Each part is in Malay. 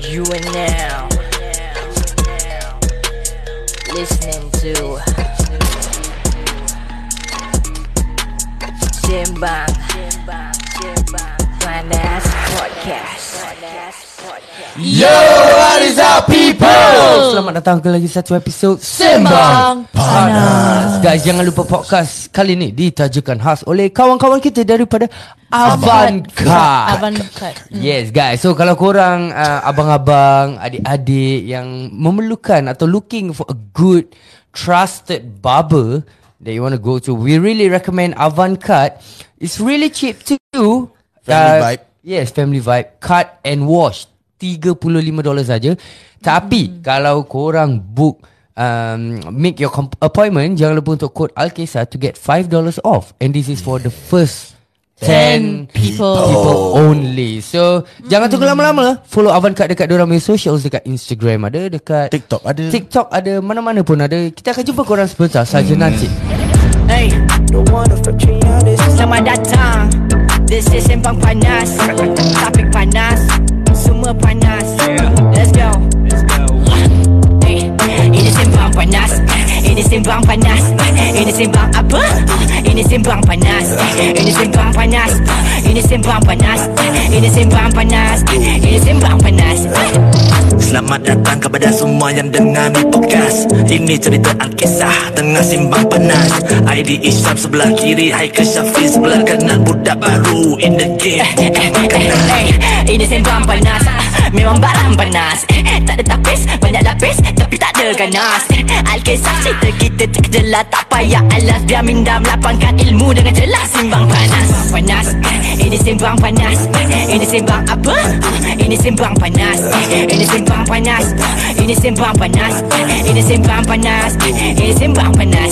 You are now listening to Sembang Panas Podcast. Yo, what is up people? Selamat datang ke lagi satu episod Sembang Panas. Guys, jangan lupa podcast kali ni ditajakan khas oleh kawan-kawan kita daripada Avantcard. Yes guys, so kalau korang abang-abang, adik-adik yang memerlukan atau looking for a good trusted barber that you want to go to, we really recommend Avantcard. It's really cheap too. Family vibe. Yes, family vibe. Cut and wash $35 saja. Tapi kalau korang book make your appointment, jangan lupa untuk code Alkesar to get $5 off. And this is for the first 10 people only. So jangan tunggu lama-lama. Follow Avantcard dekat diorang punya socials, dekat Instagram ada, dekat TikTok ada, mana-mana pun ada. Kita akan jumpa korang sebentar saja nanti. Hey, selamat datang. This is Sembang Panas. Topik panas, semua panas. Let's go. Hey, ini Sembang Panas. Ini Sembang Panas. Ini Sembang apa? Ini Sembang Panas. Ini Sembang Panas. Ini Sembang Panas. Ini Sembang Panas. Ini Sembang Panas. Selamat datang kepada semua yang dengar ni podcast. Ini cerita Alkisah tengah simbang panas. ID Isyam sebelah kiri, Haikal Syafiq sebelah kanan. Budak baru in the game. Ini Sembang Panas. Memang barang panas. Tak ada tapis, banyak lapis, tapi tak ada ganas. Alkisah cerita kita terkejelas, tak payah alas. Biar minda melapangkan ilmu dengan jelas. Simbang Panas. Panas. Ini Sembang Panas. Ini Sembang apa? Ini Sembang Panas. Ini Sembang Panas. Ini Sembang Panas. Ini Sembang Panas. Ini Sembang Panas.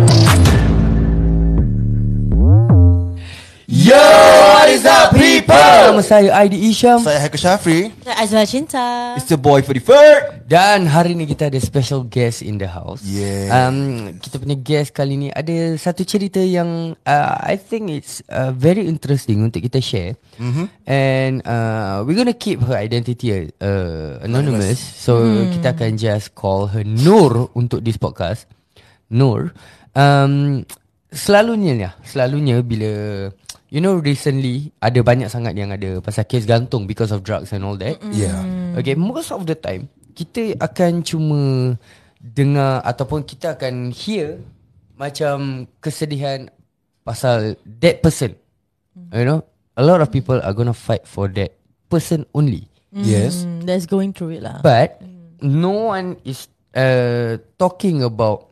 Yo, what is up people? Nama saya ID Isyam. Saya Haikal Syafiq. Saya Azwar Cinta. It's the boy for the third. Dan hari ni kita ada special guest in the house. Yeah. Kita punya guest kali ni ada satu cerita yang I think it's very interesting untuk kita share. And we're gonna keep her identity anonymous. So kita akan just call her Nur untuk this podcast. Nur. Selalunya bila recently ada banyak sangat yang ada pasal kes gantung because of drugs and all that. Yeah. Okay, most of the time kita akan cuma dengar ataupun kita akan hear macam kesedihan pasal that person. You know, a lot of people are gonna fight for that person only. Yes. That's going through it lah. But no one is talking about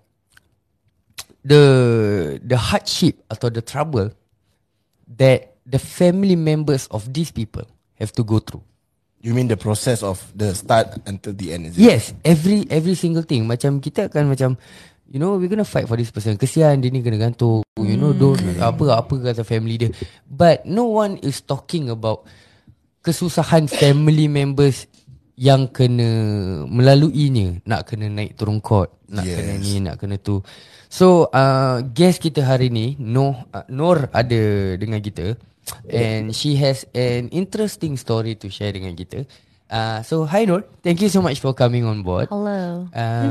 the hardship atau the trouble that the family members of these people have to go through. You mean the process of the start until the end, is it? Yes, every single thing. Macam kita akan macam, we're gonna fight for this person. Kesian dia ni kena gantung. Don't apa kata family dia. But no one is talking about kesusahan family members yang kena melaluinya. Nak kena naik turun court, nak kena ni, nak kena tu. So guest kita hari ni Nur ada dengan kita. And she has an interesting story to share dengan kita. So hi Nur, thank you so much for coming on board. Hello.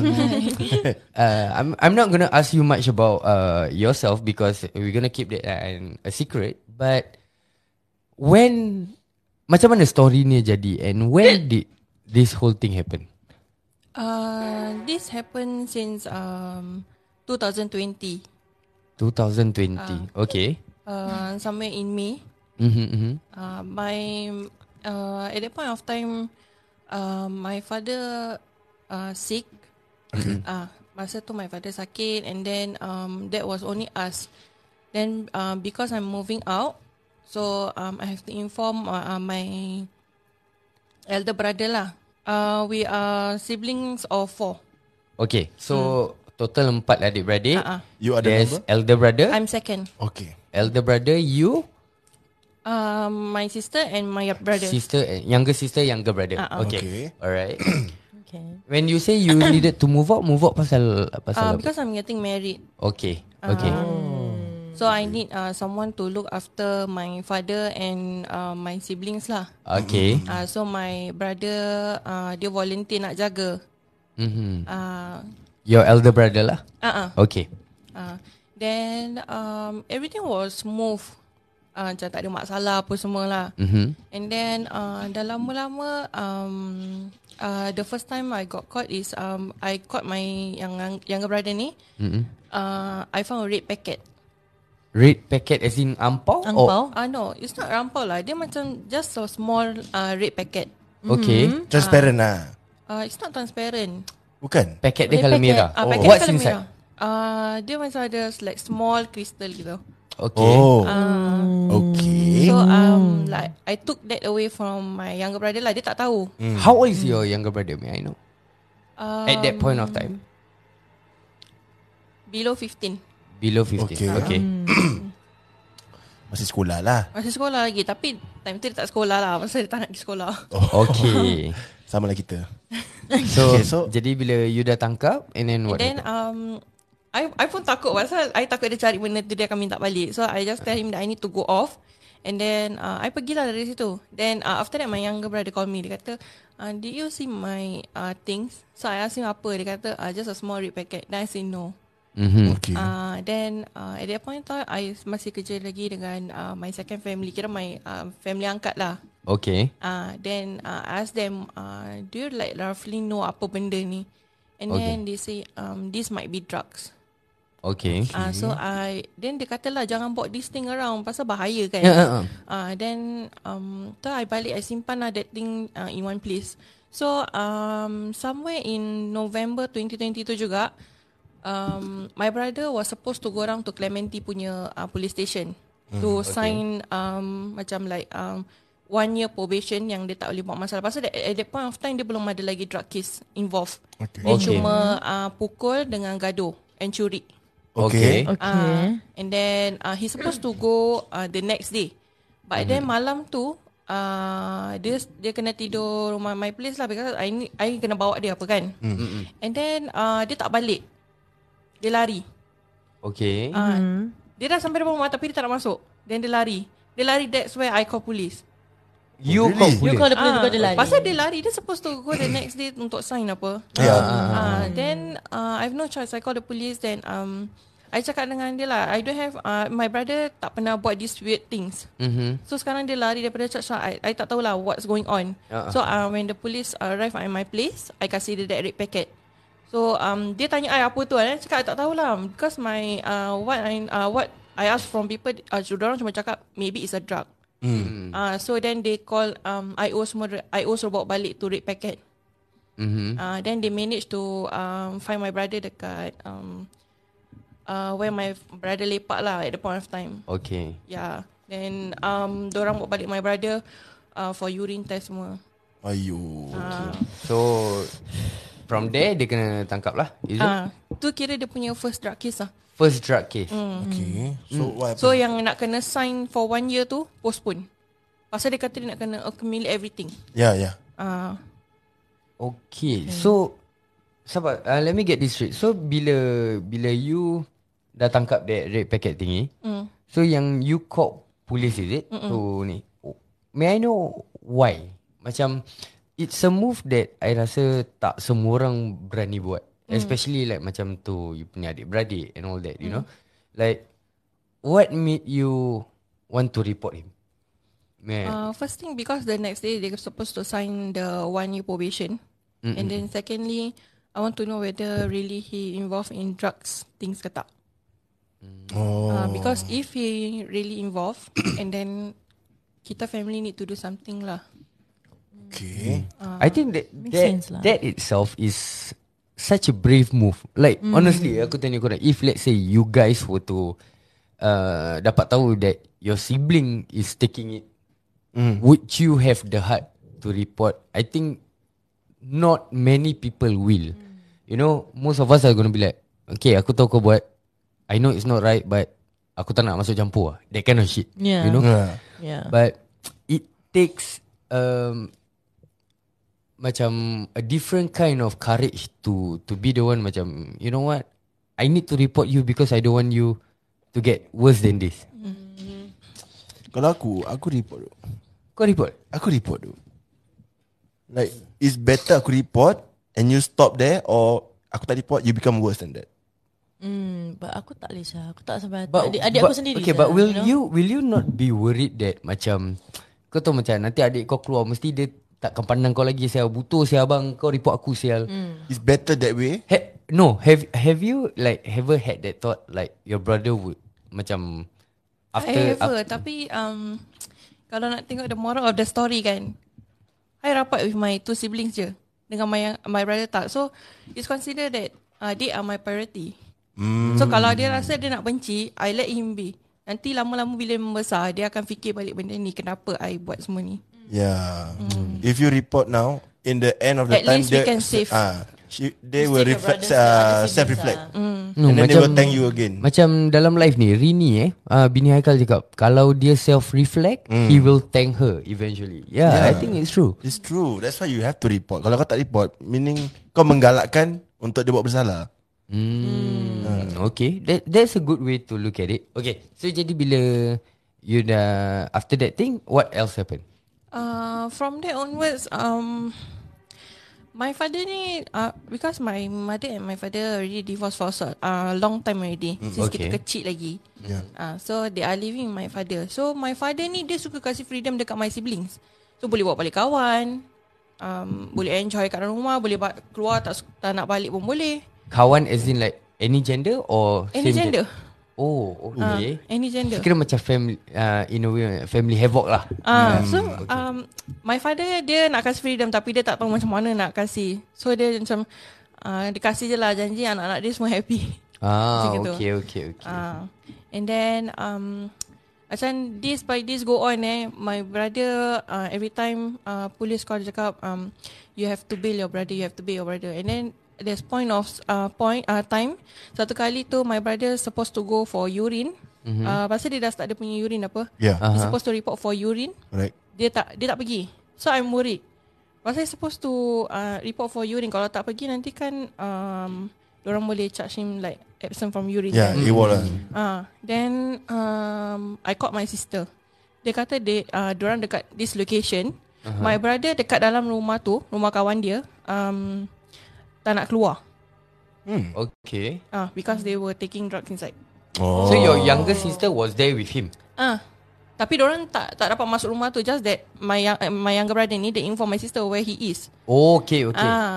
I'm not gonna ask you much about yourself because we're gonna keep that a secret. But macam mana story ni jadi, and when did this whole thing happen? This happened since 2020. 2020. Okay. Somewhere in May. At that point of time, my father sick. Masa tu my father sakit, and then that was only us. Then because I'm moving out, so I have to inform my elder brother lah. We are siblings of 4. Okay, so total 4 adik-beradik. You are the There's number? elder brother. I'm second. Okay. Elder brother, you? My sister and my brother. Younger sister, younger brother. Okay. Okay. Alright. Okay. When you say you needed to move out pasal apa? Because I'm getting married. Okay. Okay. So I need someone to look after my father and my siblings lah. Okay. So my brother dia volunteer nak jaga. Your elder brother lah. Okay. Then everything was smooth. Macam tak ada masalah apa semua lah. And then dah lama-lama the first time I got caught is I caught my younger brother ni. I found a red packet. Red packet as in ampau? Angpau? No, it's not rampau lah. Dia macam just a small red packet. Okay. Transparent lah. It's not transparent. Bukan? Packet dia Red colour packet. merah. Packet What's colour inside? merah. Dia macam ada like small crystal gitu. Okay. Okay. So like I took that away from my younger brother lah. Dia tak tahu. How old is your younger brother? May I know? At that point of time? Below 15. Below 15. Okay. Masih sekolah lah. Masih sekolah lagi. Tapi time tu dia tak sekolah lah. Pasal dia tak nak pergi sekolah. Okay. Sama lah kita. So, jadi bila you dah tangkap, and then what? Then I pun takut. Pasal I takut dia cari benda tu, dia akan minta balik. So I just tell him that I need to go off. And then I pergilah dari situ. Then after that my younger brother call me. Dia kata, did you see my things? So I asked him apa. Dia kata just a small red packet. Then I say no. Okay. Then at that point in time I masih kerja lagi dengan my second family. Kira my family angkat lah. Okay. Then I ask them, do you like roughly know apa benda ni? And then they say this might be drugs. Okay. So then dia kata lah jangan bawa this thing around pasal bahaya kan. Then so I balik, I simpan lah that thing in one place. So somewhere in November 2022 juga, my brother was supposed to go around to Clementi punya police station to sign macam like 1 year probation yang dia tak boleh buat masalah. Pasal at that point of time dia belum ada lagi drug case involved. Dia cuma pukul dengan gaduh and curi. Okay. And then he's supposed to go the next day. But then malam tu dia kena tidur rumah my place lah because I kena bawa dia apa kan. And then dia tak balik. Dia lari. Okay. Dia dah sampai depan rumah tapi dia tak nak masuk. Then dia lari. That's where I call police. You call You police? call the police because dia lari. Pasal dia lari, dia supposed to go the next day untuk sign apa. Then I have no choice. I call the police. Then I cakap dengan dia lah, I don't have my brother tak pernah buat these weird things. So sekarang dia lari daripada church. I tak tahulah what's going on. So when the police arrive at my place, I kasih dia that red packet. So dia tanya I apa tu. I cakap I tak tahulah because my what I ask from people, orang cuma cakap maybe it's a drug. So then they call IO suruh bawa balik to red packet. Then they managed to find my brother dekat where my brother lepak lah at the point of time. Okay. Yeah. Then dorang bawa balik my brother for urine test semua. Ayo. So from there dia kena tangkap lah. Is it? Tu kira dia punya first drug case lah. First drug case. Okay. So what happened? So yang nak kena sign for 1 year tu postpone. Pasal dia kata dia nak kena accumulate everything. Yeah. Okay. So sabar, let me get this straight. So bila you dah tangkap that red packet thingy, so yang you call police is it? So ni, may I know why? Macam it's a move that I rasa tak semua orang berani buat. Especially like macam tu you punya adik-beradik and all that, you know. Like what made you want to report him? First thing because the next day they're supposed to sign the 1 year probation. And then secondly, I want to know whether really he involved in drugs things ke tak. Because if he really involved and then kita family need to do something lah. Okay. I think sense lah. that itself is such a brave move. Like honestly, aku tanya korang, if let's say you guys were to dapat tahu that your sibling is taking it, would you have the heart to report? I think not many people will. You know, most of us are going to be like, okay, aku tahu kau buat, I know it's not right, but aku tak nak masuk campur lah. That kind of shit. Yeah. You know? Yeah. But it takes macam a different kind of courage to be the one macam, you know what, I need to report you because I don't want you to to get worse than this? Kalau aku report tu. Kau report? Aku report tu. Like, it's better aku report and you stop there, or aku tak report, you become worse than that. But aku tak boleh sah. Aku tak sampai But, adik aku sendiri. Okay, but will you not be worried that macam kau tahu macam nanti adik kau keluar mesti dia takkan pandang kau lagi, sial butuh sial abang kau report aku sial. It's better that way. No, have you like ever had that thought like your brother would macam after tapi kalau nak tengok the moral of the story kan, I rapat with my 2 siblings je, dengan my brother tak. So it's considered that they are my priority. So kalau dia rasa dia nak benci, I let him be. Nanti lama-lama bila membesar, dia akan fikir balik benda ni, kenapa I buat semua ni. Yeah. If you report now, in the end of the At time, least we can save. They will reflect, self-reflect. No, and then they macam, will thank you again. Macam dalam live ni Rini bini Haikal cakap kalau dia self-reflect, he will thank her eventually. Yeah, I think it's true. It's true. That's why you have to report. Kalau kau tak report, meaning kau menggalakkan untuk dia buat bersalah. Okay, that's a good way to look at it. Okay, so jadi bila you dah after that thing, what else happened? From there onwards, my father ni, because my mother and my father already divorced for a long time already, since kita kecil lagi. So they are living with my father. So my father ni dia suka kasih freedom dekat my siblings. So boleh bawa balik kawan, boleh enjoy kat dalam rumah, boleh keluar tak nak balik pun boleh. Kawan as in like any gender or any same gender? Oh, okay. Any gender. Kira macam family, in a way family havoc lah. My father dia nak kasih freedom, tapi dia tak tahu macam mana nak kasih. So dia macam dia kasih je lah, janji anak-anak dia semua happy. Okay. And then macam this by this go on my brother every time police call, dia cakap you have to bail your brother, and then there's time satu kali tu my brother supposed to go for urine. Pasal dia dah start dia punya urine apa. He's supposed to report for urine. Right. Dia tak pergi. So I'm worried. Pasal he's supposed to report for urine. Kalau tak pergi nanti kan diorang boleh charge him like absent from urine. Yeah, it will. Then I called my sister. Dia kata diorang dekat this location. My brother dekat dalam rumah tu, rumah kawan dia, tak nak keluar. Okay. Because they were taking drugs inside. So your younger sister was there with him? Tapi diorang tak dapat masuk rumah tu. Just that my younger brother ni, they inform my sister where he is. Okay.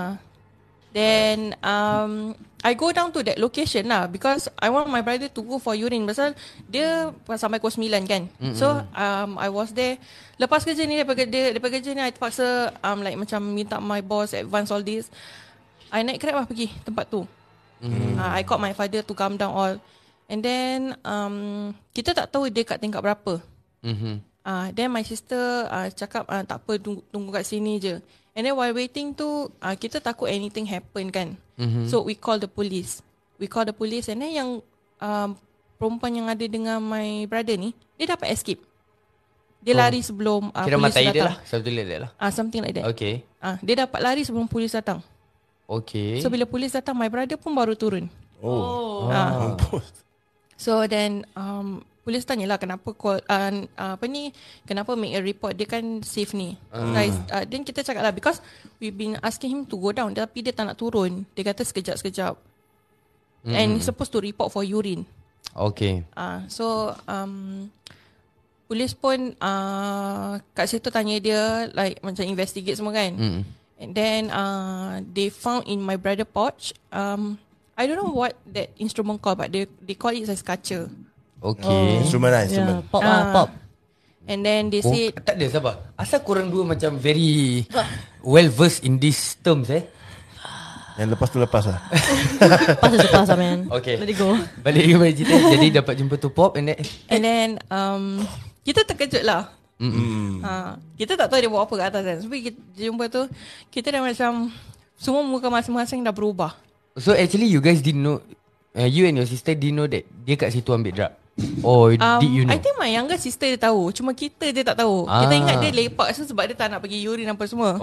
Then I go down to that location lah, because I want my brother to go for urine. Pasal dia sampai pukul 9 kan. So I was there. Lepas kerja ni, daripada kerja ni I terpaksa like macam minta my boss advance all this. I naik Grab lah pergi tempat tu. I called my father to come down all. And then kita tak tahu dia kat tingkat berapa. Then my sister cakap tak apa, tunggu kat sini je. And then while waiting tu kita takut anything happen kan. So we call the police. And then yang perempuan yang ada dengan my brother ni, dia dapat escape. Dia lari sebelum kira polis matai datang. dia lah, something like that lah. Something like that. Okay. Dia dapat lari sebelum polis datang. Okay. So bila polis datang, my brother pun baru turun. So then polis tanyalah kenapa call kenapa make a report, dia kan safe ni. Guys, then kita cakap lah, because we've been asking him to go down, tapi dia tak nak turun. Dia kata sekejap-sekejap. And he's supposed to report for urine. Okay. So polis pun kat situ tanya dia, like macam investigate semua kan. And then they found in my brother pouch, I don't know what that instrument called, but they call it as kaca. Okay. Instrument. Pop. And then they said, tak ada, sabar. Asal korang dua macam very well versed in these terms Yang lepas tu lepas lah. Pass lah man. Okay. Let it go. Balik cerita. Jadi dapat jumpa tu pop and then kita terkejut lah. Kita tak tahu dia buat apa kat atas kan. Sebab kita jumpa tu, kita dah macam semua muka masing-masing dah berubah. So actually you guys didn't know, you and your sister didn't know that dia kat situ ambil drug? Oh, did you know? I think my younger sister dia tahu. Cuma kita je tak tahu. Kita ingat dia lepak sebab dia tak nak pergi urine apa semua.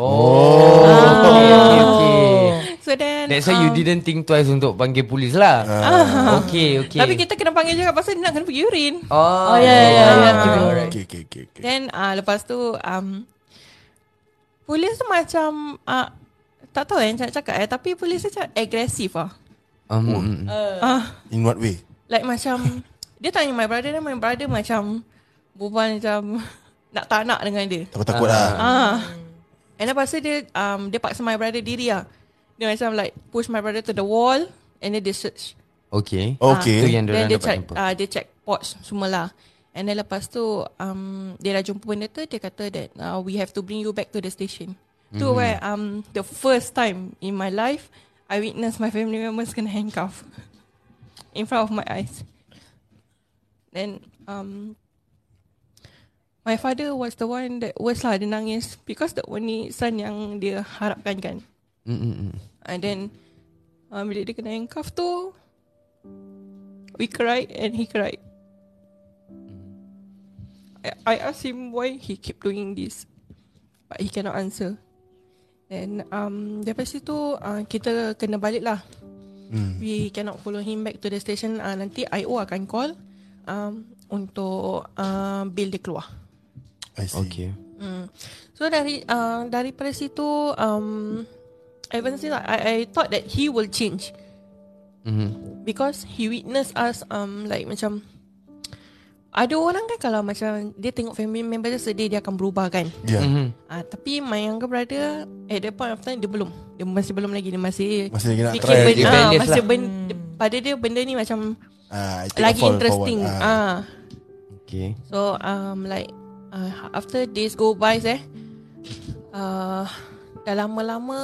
Okay. So then That's why you didn't think twice untuk panggil polis lah. Okay. Tapi kita kena panggil juga pasal dia nak kena pergi urine. Oh, yeah. Okay. Then lepas tu polis tu macam tak tahu nak cakap tapi polis tu macam agresif In what way? Like macam dia tanya my brother dan my brother macam berbual macam tak nak dengan dia. Takut lah. And lepas tu dia paksa my brother diri lah. Dia macam like push my brother to the wall and then dia search. Okay. Okay. Tu yang Then dia dapat check jumpa. dia check pods semua lah. And then lepas tu dia dah jumpa benda tu, dia kata that we have to bring you back to the station. Tu where the first time in my life I witnessed my family members kena handcuff in front of my eyes. Then my father was the one that worst lah, dia nangis because the only son yang dia harapkan kan. And then bila dia kena handcuff tu, we cried and he cried. I asked him why he keep doing this, but he cannot answer. Then daripada situ kita kena balik lah. We cannot follow him back to the station. Nanti IO akan call untuk bill dia keluar. I see. Okay. So daripada situ ever since I thought that he will change. Because he witnessed us like macam ada orang kan kalau macam dia tengok family member dia sedih, dia akan berubah kan. Yeah. Tapi my younger brother at that point of time dia masih belum lagi, dia masih lagi nak fikir try. masih pada dia benda ni macam I take a lagi fall interesting. forward. Okay. So like after days go by dah lama-lama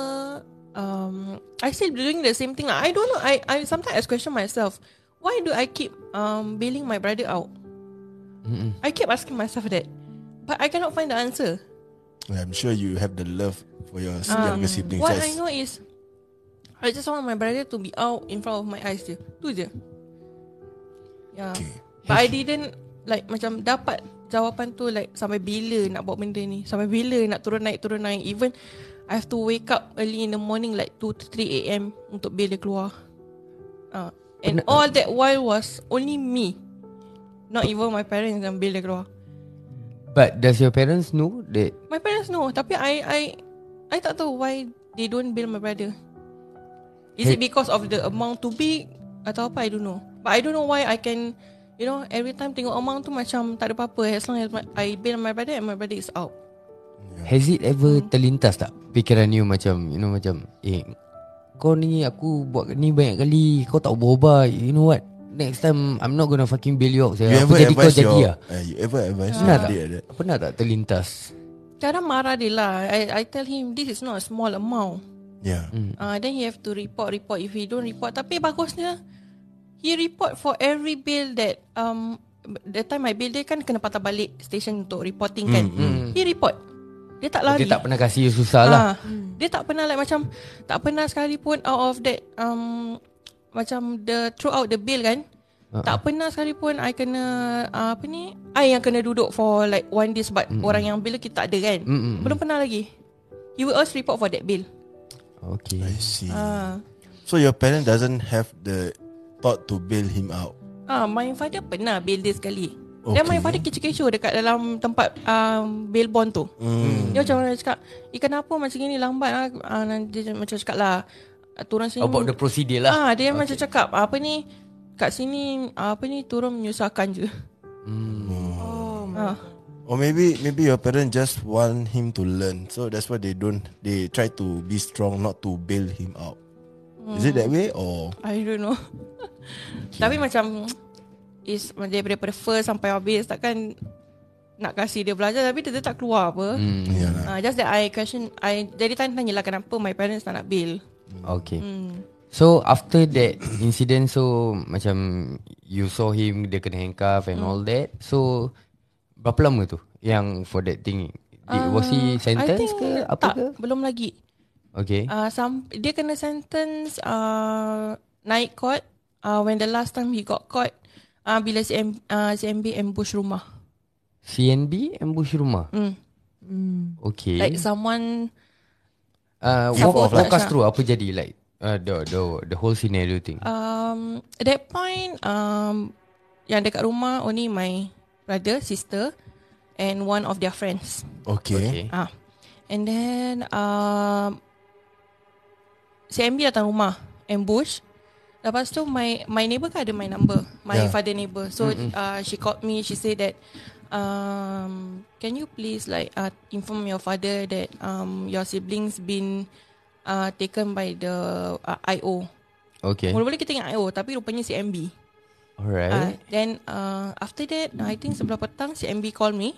I still doing the same thing. I don't know. I sometimes I question myself, why do I keep bailing my brother out? I keep asking myself that, but I cannot find the answer. I'm sure you have the love for your younger siblings. What I know is I just want my brother to be out in front of my eyes je. Tu je. Yeah. Okay. But I didn't like macam dapat jawapan tu like sampai bila nak buat benda ni, sampai bila nak turun naik. Even I have to wake up early in the morning like 2 to 3 AM untuk bail dia keluar. And all that while was only me, not even my parents yang bail dia keluar. But does your parents know that? My parents know, tapi I tak tahu why they don't bail my brother. Is it because of the amount too big atau apa? I don't know. But I don't know why I can, every time tengok amount tu macam tak ada apa-apa as long as I bail my brother and my brother is out. Has it ever terlintas tak fikiran you macam macam kau ni aku buat ni banyak kali, kau tak berubah, you know what, next time I'm not gonna fucking bail you out. You ever jadi kau advise jadi lah. You ever advise Pernah your tak? dad? Pernah tak terlintas? Kadang marah dia lah. I tell him this is not a small amount. Yeah. Then he have to report. If he don't report, tapi bagusnya he report for every bill that that time my bill dia kan kena patah balik station untuk reporting kan. He report. Dia tak lari. Dia tak pernah kasih you susah lah. Dia tak pernah like macam tak pernah sekalipun out of that macam throughout the bill kan. Tak pernah sekalipun I kena I yang kena duduk for like 1 day sebab orang yang bill kita tak ada kan. Belum pernah lagi. He will always report for that bill. Okay. I see. So your parent doesn't have the thought to bail him out? My father pernah bail dia sekali. Okay. Dan my father kecoh-kecoh dekat dalam tempat bail bond tu. Dia macam mana cakap, kenapa macam ni lambat dia macam cakap lah, turun sini. About the procedure lah. Dia macam cakap kat sini turun menyusahkan je. Or maybe your parents just want him to learn, so that's why they try to be strong not to bail him out. Is it that way or? I don't know. Tapi macam is daripada first sampai habis takkan nak kasih dia belajar tapi dia tak keluar apa. Just that I question, I jadi tanya lah kenapa my parents tak nak bail. Okay. So after that incident, so macam you saw him, dia kena handcuff and all that. So berapa lama tu yang for that thing? Was he sentenced ke apa tak, ke? Belum lagi. Okay. Dia kena sentence naik court. When the last time he got caught, Bila CMB ambush rumah. CNB ambush rumah. Okay. Like someone walk us through apa jadi like the whole scenario thing. at that point yang dekat rumah only my brother, sister and one of their friends. Okay. And then CMB datang rumah, ambush. Lepas tu my neighbour kan ada my number, my father neighbour. So she called me, she said that can you please like inform your father that your siblings been taken by the IO. Okay. Mula-mula kita ingat IO tapi rupanya CMB. Alright. Then after that I think sebelah petang CMB call me.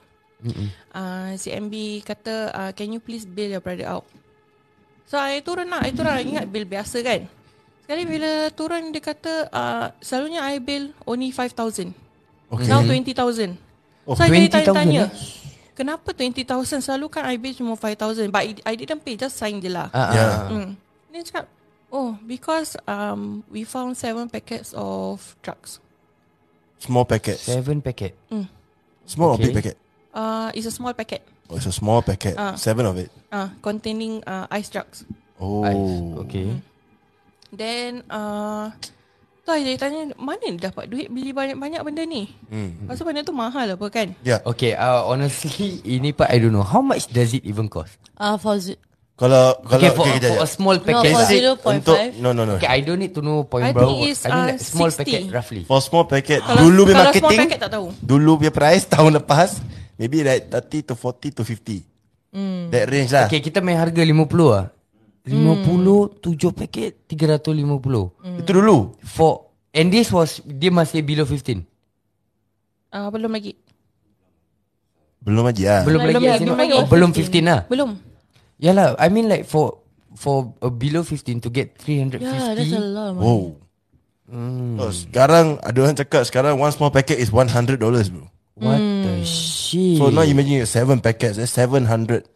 CMB kata can you please bail your brother out. So I turun ingat bail biasa kan. Sekali bila turun dia kata selalunya I bail only 5,000. Okay. Now 20,000. Oh, So I 20,000 tanya kenapa 20,000? Selalu kan I bail cuma 5,000. But I didn't pay, just sign je lah. Dia cakap because we found 7 packets of drugs. Small packet. 7 packet. Small or Okay. big packet? It's a small packet. Oh, it's a small packet. 7 of it. Containing ice drugs. Oh. Okay. Then tu saya tanya mana dia dapat duit beli banyak-banyak benda ni. Pasal benda tu mahal apa kan. Yeah. Okay, honestly ini part I don't know. How much does it even cost? Kalau Okay, for kejap. a small No, packet. for lah. 0.5. Untuk no. Okay, I don't need to know point I berapa. think it's, I mean like small 60. packet roughly. For small packet, Kalau dulu punya small marketing, packet tak tahu. dulu punya price tahun lepas, maybe like 30 to 40 to 50. That range lah. Okay, kita main harga 50 lah. 50, 7 paket, 350. Itu dulu. And this was, dia masih below 15. Belum lagi. Belum lagi lah. Belum lagi. as in- belum lagi. oh, belum 15 lah. Belum. Yalah, I mean like for below 15 to get 350. Yeah, that's a lot of money. Wow. Oh, sekarang ada orang cakap sekarang one small packet is $100 bro. What the shit. So now imagine 7 packets, that's 700.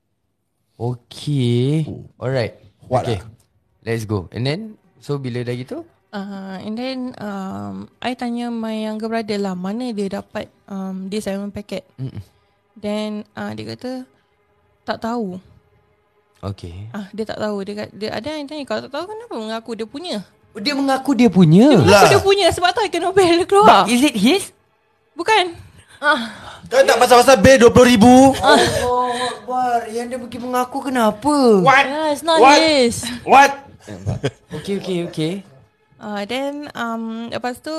Okay. Alright. What Okay. Let's go. And then, so bila dah gitu? And then I tanya my younger brother lah mana dia dapat dia 7 packet. Then dia kata tak tahu. Okay. Dia tak tahu. Dia ada yang tanya kalau tak tahu kenapa mengaku dia punya. Dia mengaku dia punya. Mengaku dia punya sebab tu I kena bail dia keluar. Is it his? Bukan. Kau tak pasal-pasal bail $20,000. Oh, Akbar. Yang dia pergi mengaku kenapa? Yeah, it's not his. What? Okay. Then lepas tu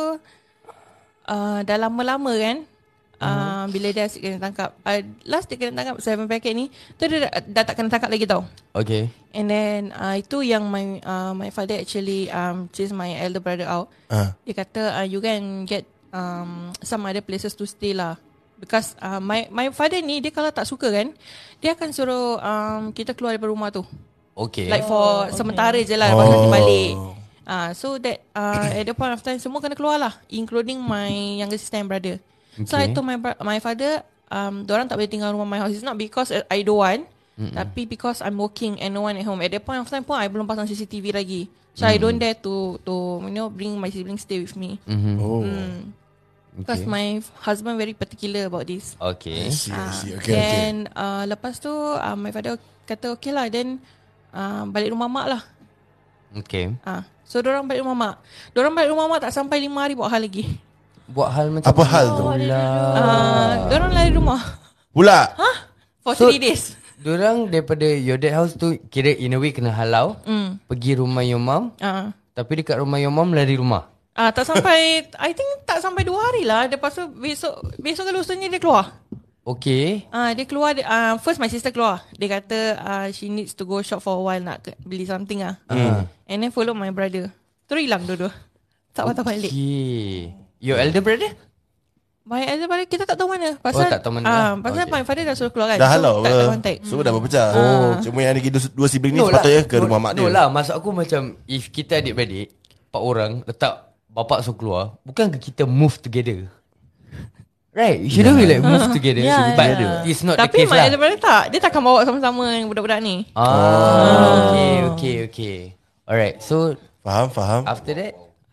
dah lama-lama kan bila dia asyik kena tangkap. Last dia kena tangkap 7 packet ni, tu dia dah tak kena tangkap lagi tau. Okay. And then itu yang my father actually chase my elder brother out. Dia kata you can get some other places to stay lah. Because my father ni dia kalau tak suka kan, dia akan suruh kita keluar daripada rumah tu. Okay. Like for sementara je lah, lepas nanti balik. So that at the point of time semua kena keluar lah, including my younger sister and brother. So I told my father diorang tak boleh tinggal rumah my house. It's not because I don't want, tapi because I'm working and no one at home. At that point of time pun I belum pasang CCTV lagi. So I don't dare to bring my siblings stay with me. Because my husband very particular about this. Okay. I see. Okay. Then lepas tu my father kata okay lah, then balik rumah mak lah. Okay. So diorang balik rumah mak. Diorang balik rumah mak tak sampai 5 hari buat hal lagi. Buat hal macam Apa hal tu? Diorang lari rumah Pula. for So- 3 days. Diorang daripada your dad house tu kira in a way kena halau pergi rumah your mom. Tapi dekat rumah your mom lari rumah. Tak sampai I think tak sampai 2 hari lah. Lepas tu besok ke lusanya dia keluar. Okay. Dia keluar first my sister keluar. Dia kata she needs to go shop for a while nak beli something And then follow my brother. Terus hilang dua-dua. Tak patah balik. Okay. Your elder brother? My elder brother kita tak tahu mana. Pasal tak tahu mana lah. pasal Okay. my father dah suruh keluar kan. Dah So, halau tak ada ke? contact. So dah berpecah. Cuma yang lagi dua sibling ni No sepatutnya lah. ke rumah mak dia. No lah. Maksud aku macam if kita adik-beradik 4 orang letak bapak suruh keluar, bukan ke kita move together? Right, you shouldn't we like move together. Yeah, But yeah. it's not Tapi the case my lah. elder brother tak. Dia takkan bawa sama-sama yang budak-budak ni. Okay. Alright, so Faham. after that?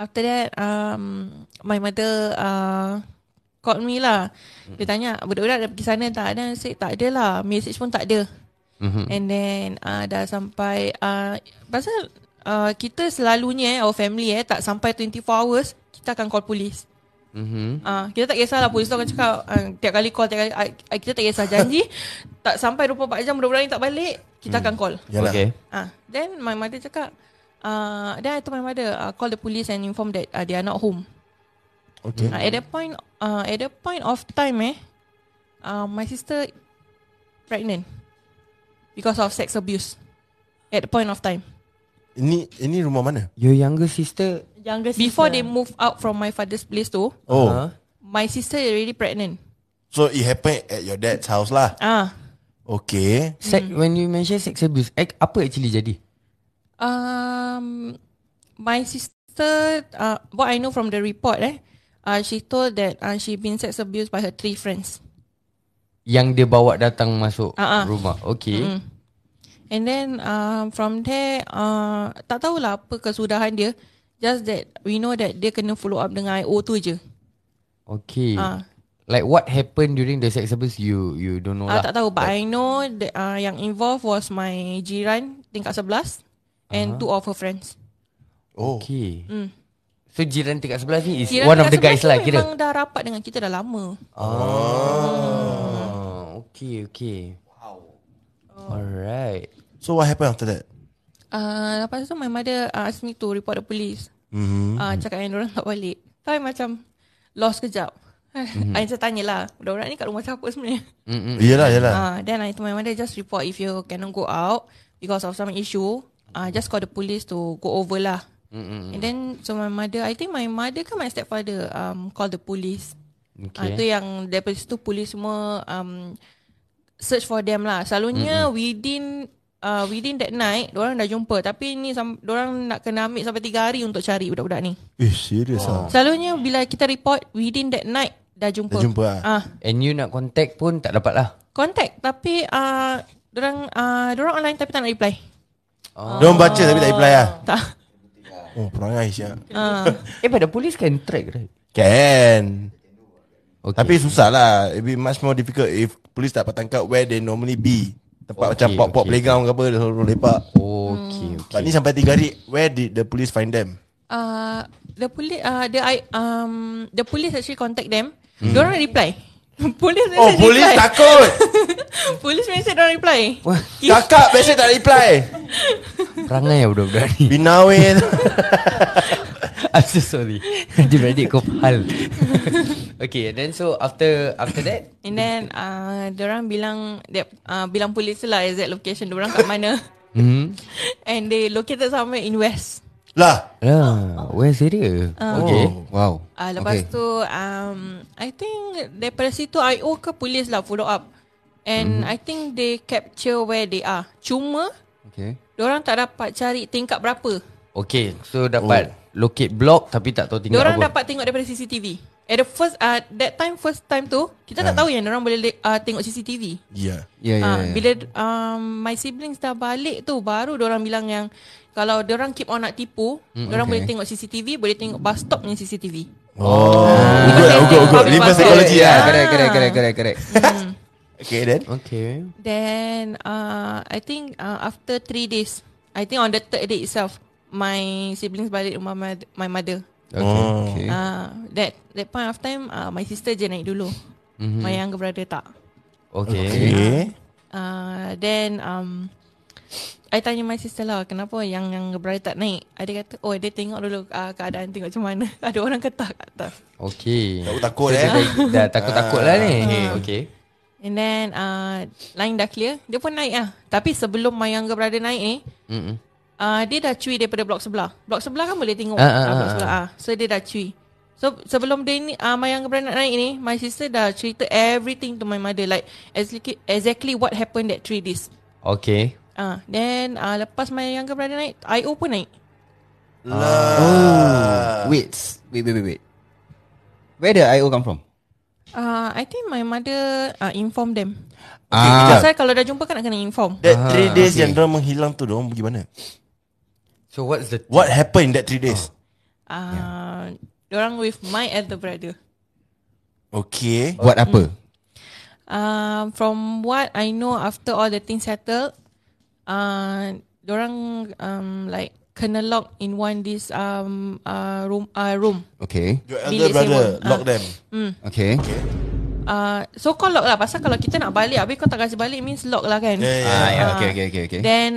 After that my mother called me lah. Dia tanya budak-budak dah pergi sana tak? Dan saya tak ada lah, message pun tak ada. And then dah sampai pasal kita selalunya our family tak sampai 24 hours kita akan call polis. Kita tak kisahlah, polis tu akan cakap tiap kali call, kita tak kisah, janji tak sampai 24 jam budak-budak ni tak balik, kita akan call. Okay. Then my mother cakap then I told my mother call the police and inform that they are not home. Okay. At that point of time my sister pregnant because of sex abuse. At the point of time. Ini rumah mana? Your younger sister. Before they move out from my father's place tu, my sister already pregnant. So it happened at your dad's house lah. Okay. When you mention sex abuse, apa actually jadi? My sister, what I know from the report, she told that she been sex abused by her 3 friends. Yang dia bawa datang masuk rumah. Okay. And then from there, tak tahulah apa kesudahan dia. Just that we know that dia kena follow up dengan IO tu je. Okay. Like what happened during the sex abuse, you don't know lah. Tak tahu, but I know that yang involved was my jiran tingkat 11 and 2 of her friends. Okay. So jiran tingkat 11 ni is Jiran one of the guys lah kira. Memang dah rapat dengan kita dah lama. Okay. Wow. Alright. So what happened after that? Lepas tu my mother asked me to report the police. Cakap yang diorang tak balik. Tapi macam lost kejap. I just tanya lah, budak-budak ni kat rumah siapa sebenarnya? Yelah. Then I told my mother, just report if you cannot go out because of some issue. Just call the police to go over lah. And then so my mother, I think my mother kan my stepfather call the police. Itu yang daripada situ police semua search for them lah. Selalunya within that night diorang dah jumpa. Tapi ni diorang nak kena ambil sampai 3 hari untuk cari budak-budak ni. Serius lah. Selalunya bila kita report within that night dah jumpa. And you nak contact pun tak dapat lah. Contact tapi diorang online tapi tak nak reply. Diorang baca tapi tak reply lah. Tak. Perangai siap. But the police can track, right? Can. Okay. Tapi susah lah. It be much more difficult if police tak dapat tangkap where they normally be. Tempat macam pop-pop playground ke apa, dia selalu lepak. Okay. But ni sampai 3 hari, where did the police find them? The police actually contact them. Diorang reply. Police Police takut. Police message diorang reply. Kakak message tak reply. Perangai lah budak-budak ni. Binawin. I'm so sorry. Adik-beradik kau hal. Okay, and then so after that, and then diorang bilang polis lah exact location diorang kat mana. And they located somewhere in West. West area. Okay. Wow. Lepas tu I think daripada situ IO ke polis lah follow up. And I think they capture where they are. Cuma diorang tak dapat cari tingkat berapa. Okay, so dapat locate block tapi tak tahu tingkat diorang apa. Dapat tengok daripada CCTV. At the first time tu kita tak tahu yang diorang boleh tengok CCTV. Bila my siblings dah balik tu baru diorang bilang yang kalau diorang keep on nak tipu, diorang boleh tengok CCTV, boleh tengok bus stop punya CCTV. Good. Reverse psychology lah. Correct. Then I think after 3 days, I think on the 3rd day itself, my siblings balik rumah my mother. That point of time my sister je naik dulu. My younger brother tak. Then I tanya my sister lah, kenapa yang brother tak naik. Dia kata dia tengok dulu keadaan, tengok macam mana. Ada orang ketak kat atas. Takut dah takut-takut lah ni. And then line dah clear, dia pun naik lah. Tapi sebelum my younger brother naik ni, dia dah cuy daripada blok sebelah. Blok sebelah kan boleh tengok blok sebelah. So dia dah cuy. So sebelum dia ni my younger brother nak naik ni, my sister dah cerita everything to my mother, like exactly what happened that 3 days. Then lepas my younger brother naik, IO pun naik. Wait. Where the IO come from? I think my mother inform them. Pasal kalau dah jumpa kan nak kena inform. That 3 days yang diorang menghilang tu, diorang pergi mana? So what happened in that 3 days? Diorang with my elder brother. Okay. Buat apa? From what I know, after all the things settled, diorang like kena lock in this room. Okay. Your elder Bilik brother sewa. lock them. Okay. So call lock lah. Pasal kalau kita nak balik, habis kau tak kasi balik, means lock lah kan. Yeah. Okay. Then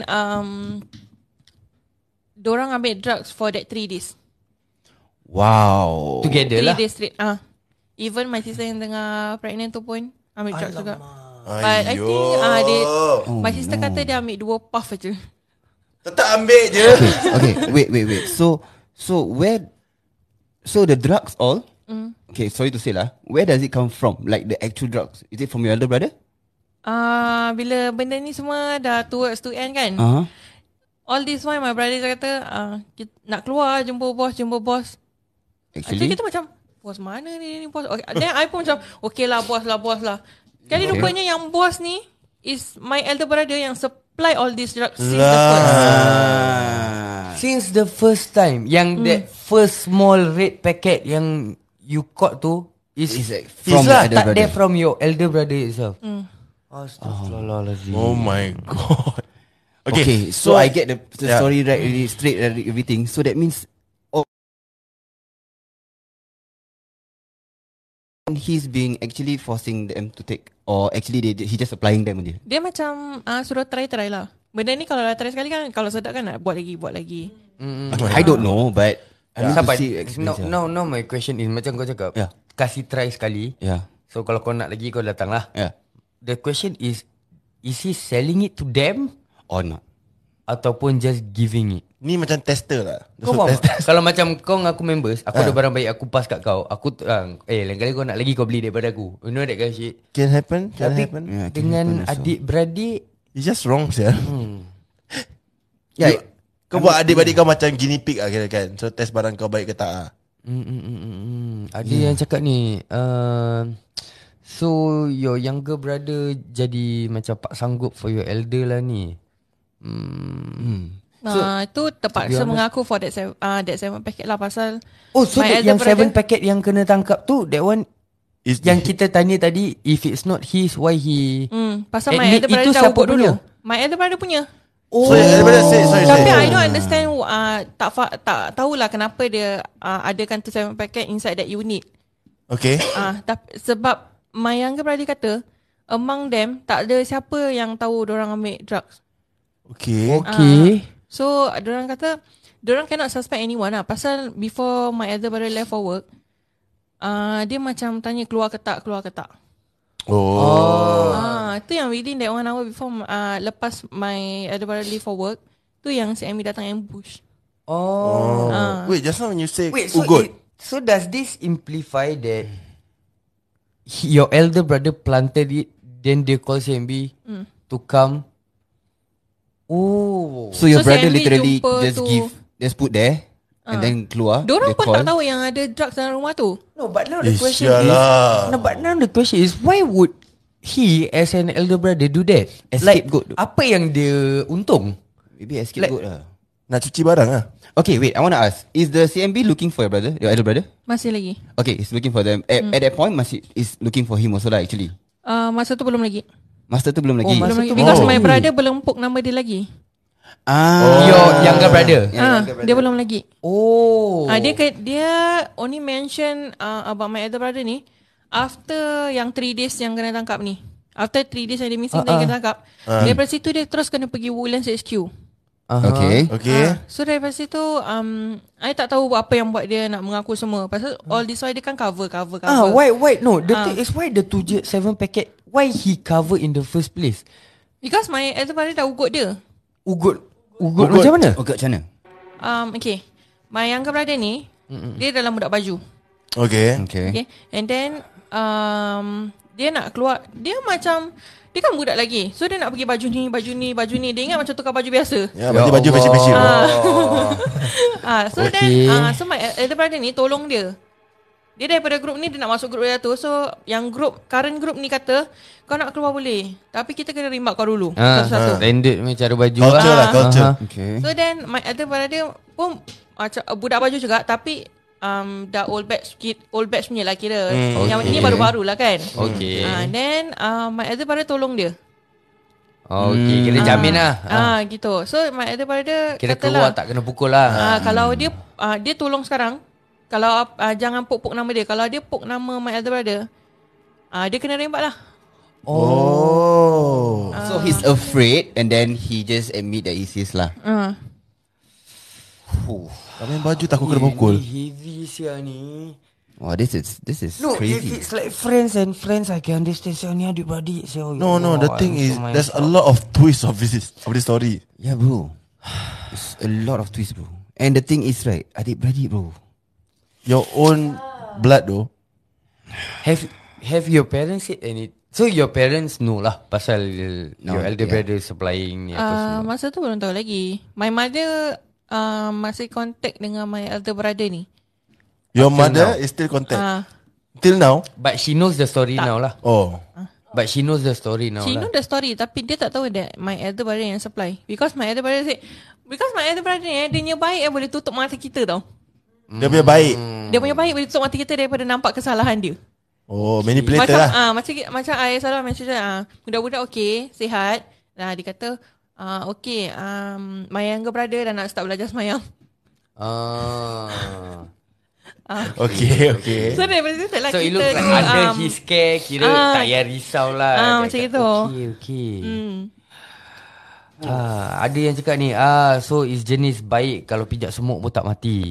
diorang ambil drugs for that 3 days. Wow. Together 3 lah. days straight. Even my sister yang tengah pregnant tu pun ambil drugs juga. But I think my sister kata dia ambil 2 puff je. Tetap ambil je. Okay. Wait. So where? So the drugs all. Okay, sorry to say lah. Where does it come from? Like the actual drugs? Is it from your elder brother? Bila benda ni semua dah towards to end kan. All this while my brother kata kita nak keluar jumpa bos. Actually kita macam bos mana ni bos. Okay. Then I pun macam okay lah bos lah. Kali rupanya yang bos ni is my elder brother yang supply all these drugs since the first. Since the first time, yang that first small red packet yang you caught tu is from lah, the elder tak brother. there from your elder brother itself. Astaghfirullahalazim. Oh my god. Okay, so I get the Yeah. story right, really straight, everything. So that means he's being actually forcing them to take, or actually he just applying them je. Dia macam suruh try lah. Benda ni kalau dah try sekali kan, kalau sedap kan nak buat lagi. I don't know, but I need to Sabar. see experience. No, my question is macam kau cakap, Yeah. kasih try sekali. Yeah. So kalau kau nak lagi, kau datang lah. Yeah. The question is he selling it to them Or not? ataupun just giving it? Ni macam tester lah. Kau faham? Kalau macam kau dengan aku members, aku ada barang baik, aku pass kat kau. Aku lain kali kau nak lagi, kau beli daripada aku. You know that kind of shit. Can happen. Tapi Yeah, can dengan happen also. adik-beradik, It's just wrong sih. Yeah. Kau buat adik-beradik kau macam guinea pig lah kira kan. So test barang kau baik ke tak lah. ada yang cakap ni, so your younger brother jadi macam pak sanggup for your elder lah ni. Itu terpaksa honest- mengaku for that 7 packet lah. Pasal Oh, so my that elder yang 7 brother- packet yang kena tangkap tu, that one Is yang kita tanya tadi, if it's not his, why he pasal my admit elder brother itu dah siapa ugut dulu. punya? My elder brother punya. So daripada say Tapi I don't understand tak tahulah kenapa dia adakan tu 7 packet inside that unit. Okay. Tapi sebab my younger brother kata among them tak ada siapa yang tahu diorang ambil drugs. Okay. Okay. So diorang kata diorang cannot suspect anyone lah. Pasal before my elder brother left for work, dia macam tanya keluar ke tak. Itu yang within that 1 hour before lepas my elder brother leave for work, tu yang CMB datang ambush. Wait, just now when you say Wait, so ugut. so does this imply that your elder brother planted it, then they call CMB to come? Oh. So your So brother CMB literally jumpa just put there and then keluar. Diorang dia pun call. tak tahu yang ada drugs dalam rumah tu. No, but now the question Sialah. is, but now the question is, why would he as an elder brother do that? Scapegoat. Apa yang dia untung? Maybe escape Like- good lah. Nak cuci barang lah. Okay, wait. I want to ask: is the CMB looking for your elder brother? Masih lagi. Okay, it's looking for them. At that point, is looking for him also lah. Actually, Masa tu belum lagi. master tu belum lagi. masa Belum lagi. tu Because belum my lagi. brother belum puk nama dia lagi. Your younger brother. Dia belum lagi. Oh. Dia only mention about my elder brother ni after yang 3 days yang kena tangkap ni. After 3 days yang dia missing dia kena tangkap. Daripada situ dia terus kena pergi Woodlands HQ. Okay. Okay. So daripada situ I tak tahu apa yang buat dia nak mengaku semua. Pasal all this while dia kan cover. Why no? The thing is, why the 7 packet? Why he cover in the first place? Because my elder brother dah ugut dia. Ugut macam mana? Okay, macam mana? Okay. My younger brother ni dia dalam budak baju. Okay. Okay. And then dia nak keluar. Dia macam dia kan budak lagi. So dia nak pergi baju ni. Dia ingat macam tukar baju biasa. Ya, baju besi-besi. So Okay. then so my elder brother ni tolong dia. Dia daripada grup ni dia nak masuk grup dia tu. So yang current group ni kata kau nak keluar boleh, tapi kita kena rimbak kau dulu satu-satu. Standard macam cara baju Culture lah, culture. Okay. So then my elder brother pun macam budak baju juga, tapi dah old batch punya lah kira. Yang ni baru-baru lah kan. Okay. Then my elder brother tolong dia. Okay, kira jamin lah. Gitu. So my elder brother Kira katalah, keluar tak kena pukul lah. kalau dia tolong sekarang, kalau jangan pok nama dia. Kalau dia pok nama my elder brother, dia kena rembat lah. So he's afraid and then he just admit that it's his lah. Kami baju takut kena pukul. Heavy sia ni. Wow, this is No, crazy. if it's like friends, I can understand. Sia ni adik-beradik. No, the thing is there's a lot of twists of this story. Yeah, bro. It's a lot of twists, bro. And the thing is, right, adik-beradik, bro. Your own blood though. Have your parents said any? So your parents know lah pasal your elder brother supplying ni apa semua. Masa tu belum tahu lagi. My mother masih contact dengan my elder brother ni. Your Until mother now. is still contact. Till now. But she knows the story now lah. Oh. But she knows the story now She lah. know the story, tapi dia tak tahu that my elder brother yang supply. Because my elder brother ni dia punya baik boleh tutup mata kita tau. Dia punya baik. Dia punya baik boleh tutup mata kita daripada nampak kesalahan dia. Oh, manipulator lah. Macam ayah selalu mention budak-budak okey, sihat. Dia kata okey, my younger brother dah nak start belajar semayang. Okay. So daripada situ lah So kita it looks like under his care. Kira tak payah risau lah. macam itu. Okay. Ada yang cakap ni, so is jenis baik kalau pijak semut pun tak mati.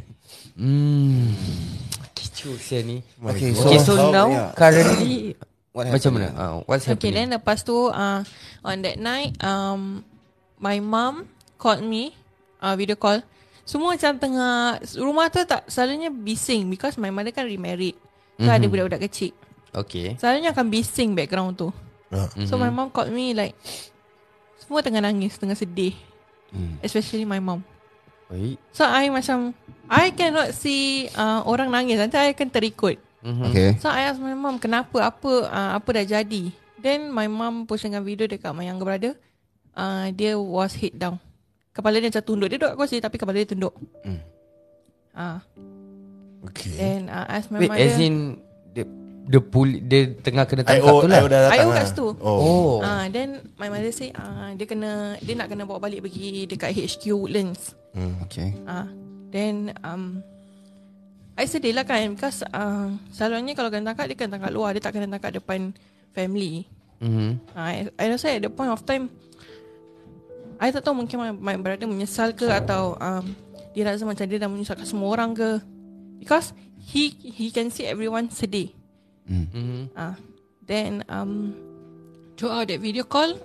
Kicau saya ni. Okay, So now currently What macam happened? mana? What's Okay, happening? then lepas tu on that night my mom called me, video call. Semua macam tengah, rumah tu tak selalunya bising because my mother kan remarried. So ada budak-budak kecil. Okay. Selalunya akan bising background tu. So my mom called me like semua tengah nangis, tengah sedih. Especially my mom. Baik. So I macam I cannot see orang nangis, nanti I akan terikut. Okay. So I ask my mom kenapa, apa dah jadi. Then my mom post dengan video dekat my younger brother. Dia was head down. Kepala dia macam tunduk. Dia duduk kat kursi tapi kepala dia tunduk. Okay. Then I ask my Wait, mother. as in dia tengah kena tangkap IO tu lah. dah datang IO lah. kat situ. Oh. Then my mother say dia nak kena bawa balik pergi dekat HQ Woodlands. Okay. Then I sedih lah kan because selalunya kalau kena tangkap dia kena tangkap luar, dia tak kena tangkap depan family. I rasa at the point of time I tak tahu, mungkin my brother menyesal ke atau dia rasa macam dia dah menyusahkan semua orang ke, because he can see everyone sedih. Then throughout that video call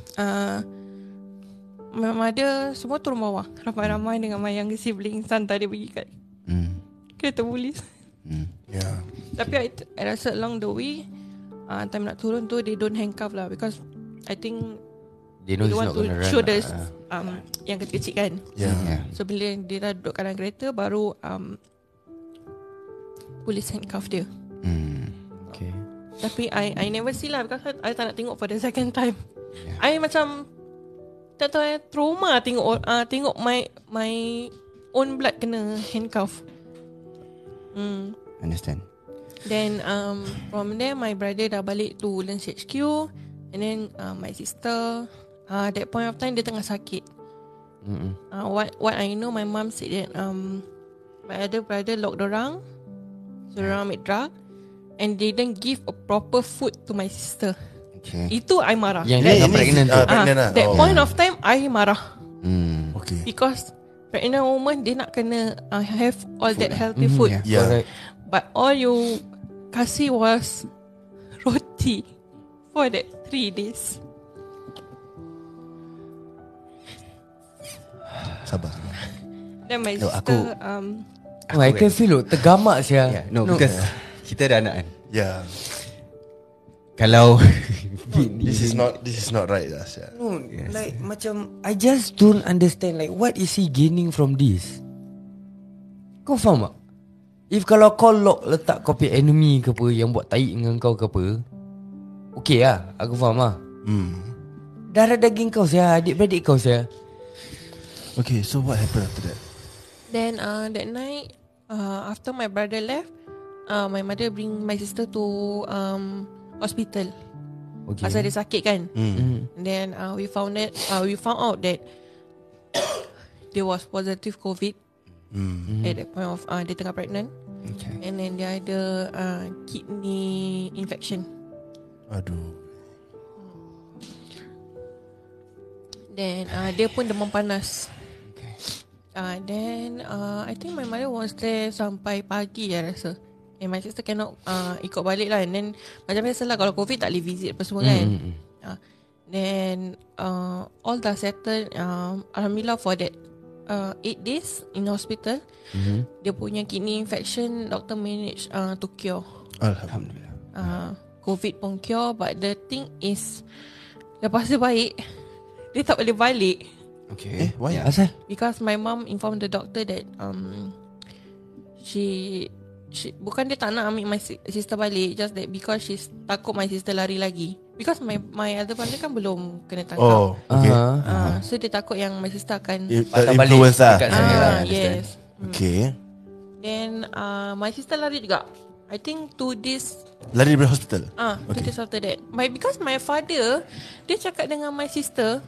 my mother semua turun bawah, ramai-ramai dengan my younger sibling hantar dia pergi kat kereta polis. Yeah. Tapi I rasa along the way time nak turun tu they don't handcuff lah, because I think They know they he's want not to gonna run show the lah. yang kecil-kecil kan. Yeah. So bila dia dah duduk dalam kereta, baru polis handcuff dia. Okay. Tapi I never see lah, because I tak nak tengok for the second time. I macam tak tahu, trauma tengok my own blood kena handcuff. Understand. Then from there my brother dah balik to Woodlands HQ. And then my sister that point of time dia tengah sakit. What I know, my mom said that my other brother locked dorang, so dorang ambil drug, and they didn't give a proper food to my sister. Okay. Itu I marah. Yang dia tengah pregnant tu. Pregnant lah. That point of time I marah Okay. because pregnant woman dia nak kena have all that healthy food. Yeah. Correct. But all you kasih was roti for that 3 days. Sabar. Then my No, sister I can feel tergamak sia. Yeah, no, because kita ada anak kan. Yeah. Kalau This is not right lah. No, like macam I just don't understand, like what is he gaining from this? Kau faham tak? If kalau kau lock letak kau punya enemy ke apa yang buat taik dengan kau ke apa, okay lah, aku faham lah. Darah daging kau sia, adik-beradik kau sia. Okay, so what happened after that? Then that night, after my brother left, my mother bring my sister to hospital. Okay. Pasal dia sakit kan. Then we found out that there was positive COVID at that point of dia tengah pregnant. Okay. And then dia ada kidney infection. Aduh. Then dia pun demam panas. Then I think my mother was there sampai pagi I rasa. And my sister cannot ikut balik lah. And then macam biasa lah, kalau COVID tak boleh visit apa semua kan. Then all dah settled. Alhamdulillah for that 8 days in hospital. Dia punya kidney infection, doctor manage to cure. Alhamdulillah. COVID pun cure. But the thing is, lepas dia baik, dia tak boleh balik. Okay. Why? Asal? Because my mom informed the doctor that she bukan dia tak nak ambil my sister balik, just that because she's takut my sister lari lagi. Because my other brother kan belum kena tangkap. Oh, okay. So dia takut yang my sister akan Influence lah. dekat sana lah. yes. Okay. Then my sister lari juga. I think 2 days Lari dari hospital. 2 days after that. Because my father, dia cakap dengan my sister,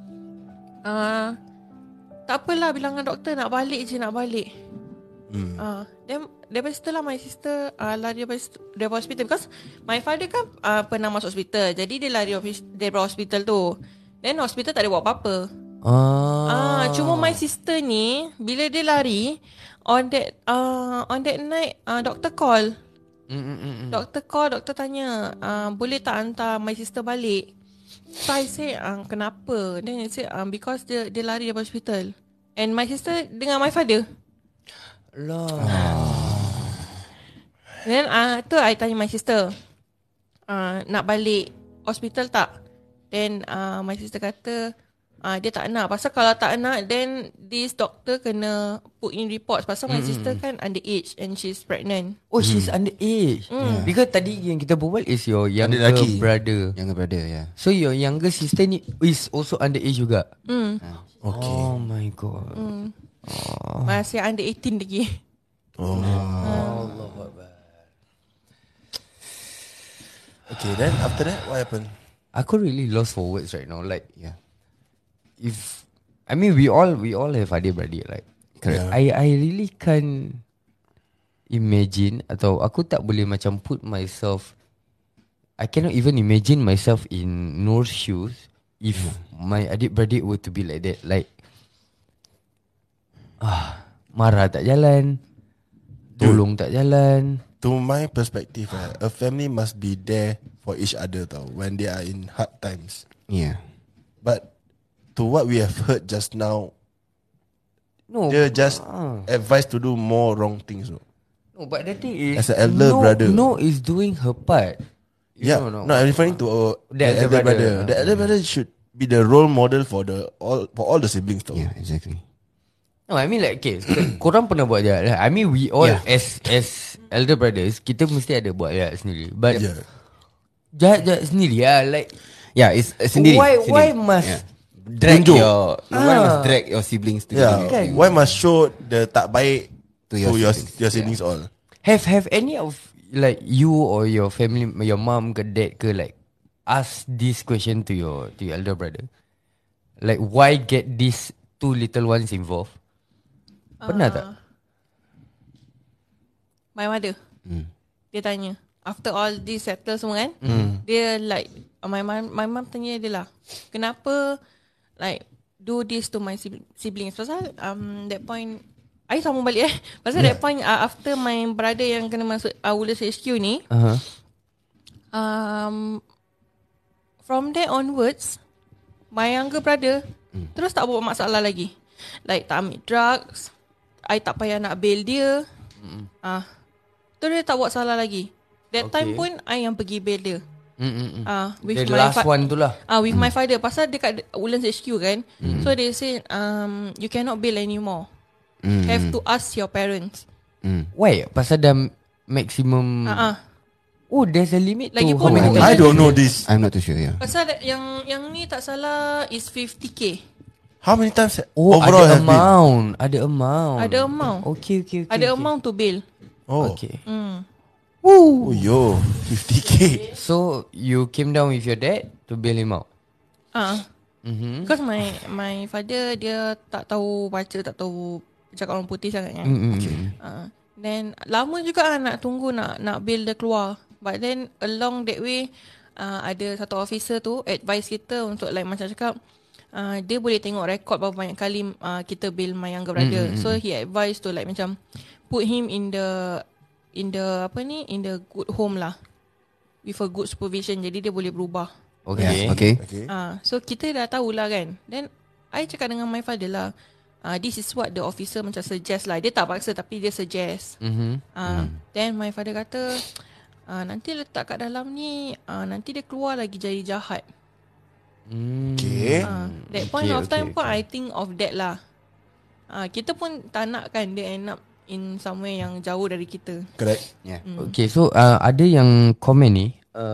tak apalah, bilang dengan doktor nak balik je, nak balik. Then daripada situ lah my sister lari daripada hospital. Because my father kan pernah masuk hospital. Jadi dia lari daripada hospital tu. Then hospital tak ada buat apa-apa. Cuma my sister ni, bila dia lari, on that night doktor call. Doktor tanya, boleh tak hantar my sister balik? So I say, kenapa? Then he said, because dia lari dari hospital. And my sister dengan my father. Then tu I tanya my sister, nak balik hospital tak? Then my sister kata, dia tak nak. Pasal kalau tak nak, then this doctor kena put in reports. Pasal my sister kan underage and she's pregnant. Oh, she's underage. Because tadi yang kita berbual is your younger lelaki. brother. Younger brother, yeah. So your younger sister ni is also underage juga. Okay. Oh my god. Masih under 18 lagi. Okay, then after that, what happened? Aku really lost for words right now. Like, Yeah. if I mean we all have adik-beradik, like Correct. I really can't imagine, atau aku tak boleh macam put myself, I cannot even imagine myself in Noor's shoes if my adik-beradik were to be like that. Like marah tak jalan, tolong tak jalan. To my perspective, a family must be there for each other tau, when they are in hard times. Yeah. But to what we have heard just now, No, they just advised to do more wrong things. No? no, but the thing is, As an elder brother. No is doing her part. You Yeah, know, no, I'm referring to The elder brother. The elder brother should be the role model for all the siblings tau. Yeah, exactly. No, I mean like, okay, korang pernah buat jahat. I mean we all as elder brothers, kita mesti ada buat jahat sendiri. But Yeah. jahat sendiri lah. Like, Yeah, it's sendiri. why must drag Tunjuk. why must drag your siblings to Yeah. Kan? Why must show the tak baik To to your your siblings all? have any of like you or your family, your mom ke dad ke, like ask this question to your elder brother? Like, why get these two little ones involved? Pernah tak? My mother, dia tanya, after all this settle semua kan, dia like my mom tanya dia lah, kenapa like do this to my siblings? Pasal that point I sambung balik pasal that point after my brother yang kena masuk Woodlands HQ ni, from there onwards, my younger brother terus tak buat masalah lagi. Like tak ambil drugs, I tak payah nak bail dia. Terus dia tak buat salah lagi. That time pun I yang pergi bail dia. With The my last one tu lah. with my father. Pasal dekat Woodlands HQ kan. So they say you cannot bail anymore. Have to ask your parents. Why? Pasal dah maximum. Oh, there's a limit Lagi to pun how many bukan- I don't know this. I'm not too sure, yeah. Pasal yang ni tak salah is 50k. How many times Oh, overall ada have been? amount. Ada amount. Ada amount. Okay. Ada amount to bail. Oh, Okay. Oh, yo, 50k. So you came down with your dad to bail him out. Because my father dia tak tahu baca, tak tahu cakap orang putih sangat kan. Then lama juga nak tunggu nak bail dia keluar. But then along that way ada satu officer tu advise kita untuk like macam cakap dia boleh tengok rekod berapa banyak kali kita bail my younger brother. So he advised to like macam put him in the good home lah, with a good supervision, jadi dia boleh berubah. Okay. So kita dah tahulah kan. Then I cakap dengan my father lah, this is what the officer macam suggest lah. Dia tak paksa tapi dia suggest. Then my father kata nanti letak kat dalam ni nanti dia keluar lagi jadi jahat. Okay. That point of time pun I think of that lah. Kita pun tak nak kan dia end up in somewhere yang jauh dari kita. Correct. Yeah. Okay, so ada yang komen ni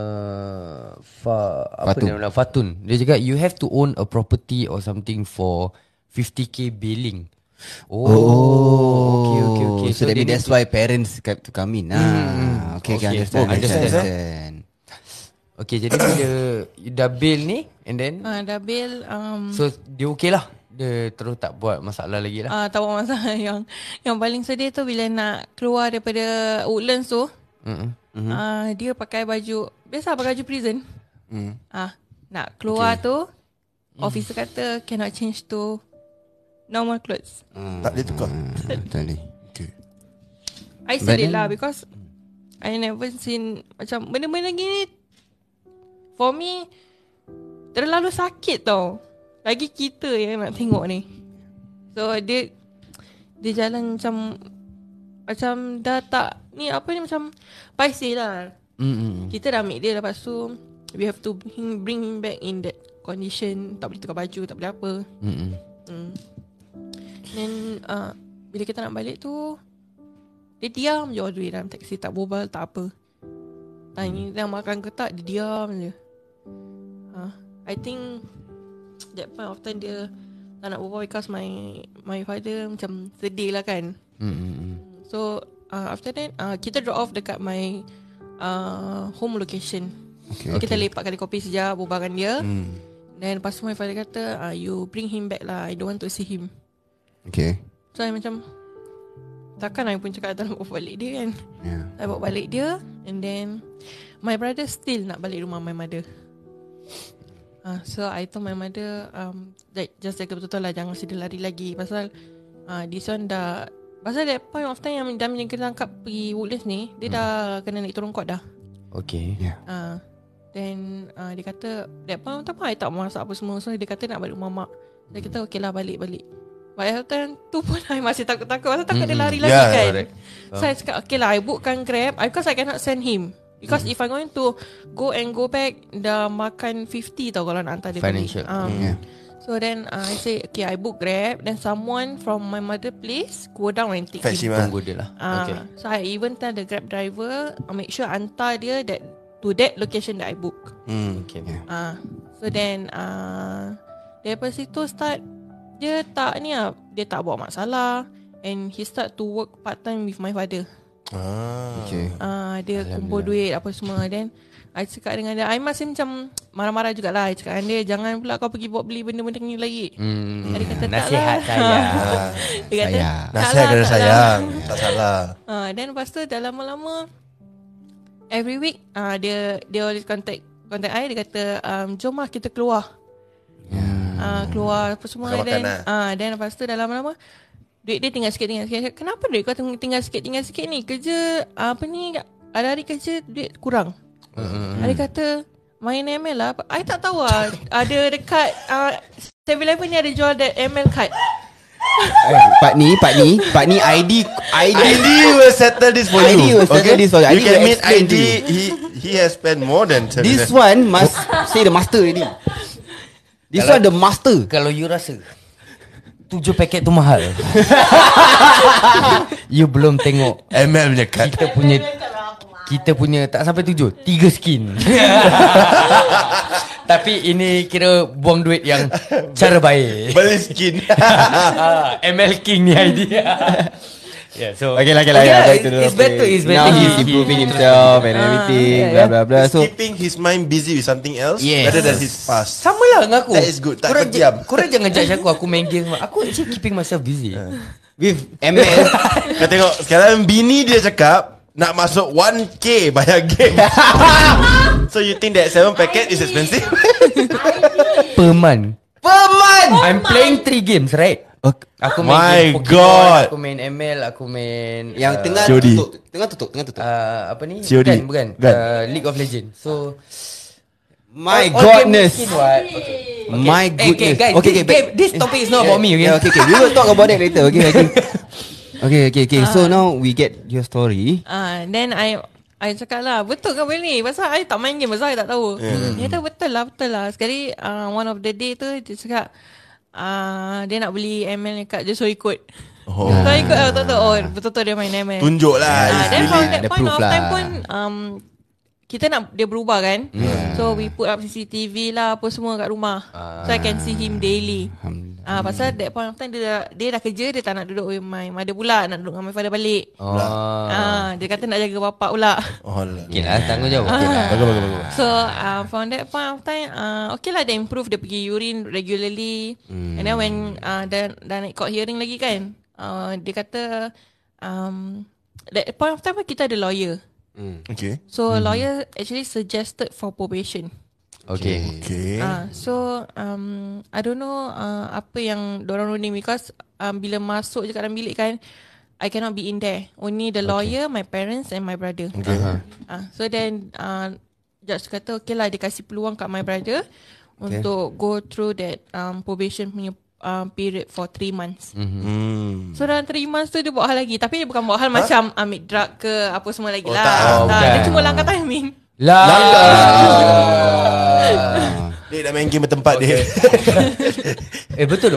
Fatun. Dia cakap you have to own a property or something for 50k bailing. Okay. So that's why parents have to come in. Okay, understand. Okay, jadi bila you dah bail ni and then Dah bail so dia okay lah. Dia terus tak buat masalah lagi lah. tak buat masalah. Yang paling sedih tu bila nak keluar daripada Woodlands tu, dia pakai baju biasa, pakai baju prison. Nak keluar tu officer kata cannot change to normal clothes. Tak boleh tukar. Totally. Okay. I said it lah because I never seen macam benda-benda gini. For me terlalu sakit tau. Lagi kita yang nak tengok ni. So dia jalan macam dah tak ni apa ni, macam paiseh lah. Kita dah ambil dia, lepas tu we have to bring him back in that condition. Tak boleh tukar baju, tak boleh apa. Then bila kita nak balik tu dia diam je all the way dalam taxi, tak berbual, tak apa. Tanya dia makan ke tak, dia diam je. I think that point of time dia tak nak berbual because my father macam sedih lah kan. So after that kita drop off dekat my home location. Kita lepak kali kopi sekejap, berbual dengan dia. Then lepas tu my father kata you bring him back lah, I don't want to see him. Okay. So I macam takkan I pun cakap tak nak bawa balik dia kan. I bawa balik dia. And then my brother still nak balik rumah my mother. So I told my mother just jaga betul-betul lah, jangan sedih lari lagi. Pasal this one dah, pasal that point of time yang kita tangkap pergi Woodlands ni, dia dah kena naik turun court dah. Okay. Then dia kata that point of time I tak masak apa semua. So dia kata nak balik rumah mak. Dia kata okay lah, balik. But at time tu pun I masih takut-takut. Pasal takut dia lari lagi kan. Correct. So I cakap okay lah, I bookkan Grab because I cannot send him. Because if I'm going to go back, dah makan 50 tau kalau nak hantar dia Financial. balik. So then I say okay, I book Grab. Then someone from my mother place go down and take Fetch him. him. Tunggu dia lah. Okay. So I even tell the Grab driver make sure hantar dia to that location that I book. Okay. So then daripada situ start dia tak ni lah, dia tak buat masalah. And he start to work part time with my father. Okay. Dia kumpul duit apa semua. Then I cakap dengan dia, I masih macam marah-marah jugalah. I cakap dengan dia, jangan pula kau pergi buat beli benda-benda ni lagi. Dia kata nasihat tak saya. lah. Dia kata Nasihat kena sayang. Tak salah. Then lepas tu dah lama-lama every week dia always contact I. Dia kata jom lah kita keluar. Keluar apa semua. Then lepas tu dah lama-lama duit dia tinggal sikit. Kenapa duit kau tinggal sikit ni? Kerja apa ni, ada hari kerja duit kurang. Dia kata main ML lah. I tak tahu lah. Ada dekat 7-Eleven ni ada jual that ML card. Pak ni ID will settle this for you. You can meet explain ID. to you. He has spent more than 7. This one must say the master already. This one the master. Kalau you rasa 7 paket tu mahal, you belum tengok ML punya card. kita punya tak sampai 7, 3 skin. Tapi ini kira buang duit yang cara baik. Beli skin. ML King ni idea. Yeah, so Okay lah, yeah, back to the it's better. It's better. Now he's improving himself and everything, blah blah blah. So Keeping his mind busy with something else Yes. rather than his past. Sama lah dengan aku. That is good. Tak Korang terdiam. korang jangan judge aku main game. Aku actually keeping myself busy. with ML, Kau tengok sekarang bini dia cakap nak masuk 1K bayar game. So you think that 7 packet is expensive? Per month. I'm playing 3 games, right? Aku main My game Pokemon, God. aku main ML, aku main yang tengah COD. tutup, tengah tutup. apa ni? COD. Bukan. Bukan. League of Legends. So My all godness. game skin, what? Okay. My Okay, goodness. guys, this topic is not about me, okay? Yeah, okay. We will talk about that later. Okay. So now we get your story. Then I cakap lah, betul ke benda ni? Pasal I tak main game, pasal I tak tahu. Dia kata betul lah. Sekali one of the day tu dia cakap dia nak beli ML dekat dia, so ikut. So I ikut betul-betul. Oh betul-betul dia main ML. Tunjuk lah. Then from that ada point proof of time lah. pun kita nak dia berubah kan. So we put up CCTV lah apa semua kat rumah. So I can see him daily. Pasal that point of time dia dah kerja, dia tak nak duduk with my mother pula, nak duduk dengan my father balik. Dia kata nak jaga bapak pula. Okay lah, tanggungjawab. Okay lah. Bagus. So from that point of time okay lah, dia improve. Dia pergi urine regularly. And then when dah naik court hearing lagi kan, dia kata that point of time kita ada lawyer. Okay. So lawyer actually suggested for probation. Okay. So I don't know apa yang dorang running, because bila masuk je kat dalam bilik kan, I cannot be in there. Only the lawyer, my parents and my brother. Okay. So then judge kata okay lah, dia kasih peluang kat my brother untuk go through that probation punya period for 3 months. So dalam 3 months tu dia buat hal lagi. Tapi dia bukan buat hal macam ambil drug ke apa semua lagi lah. Dia cuma langkah timing. Dia dah main game bertempat dia. Betul.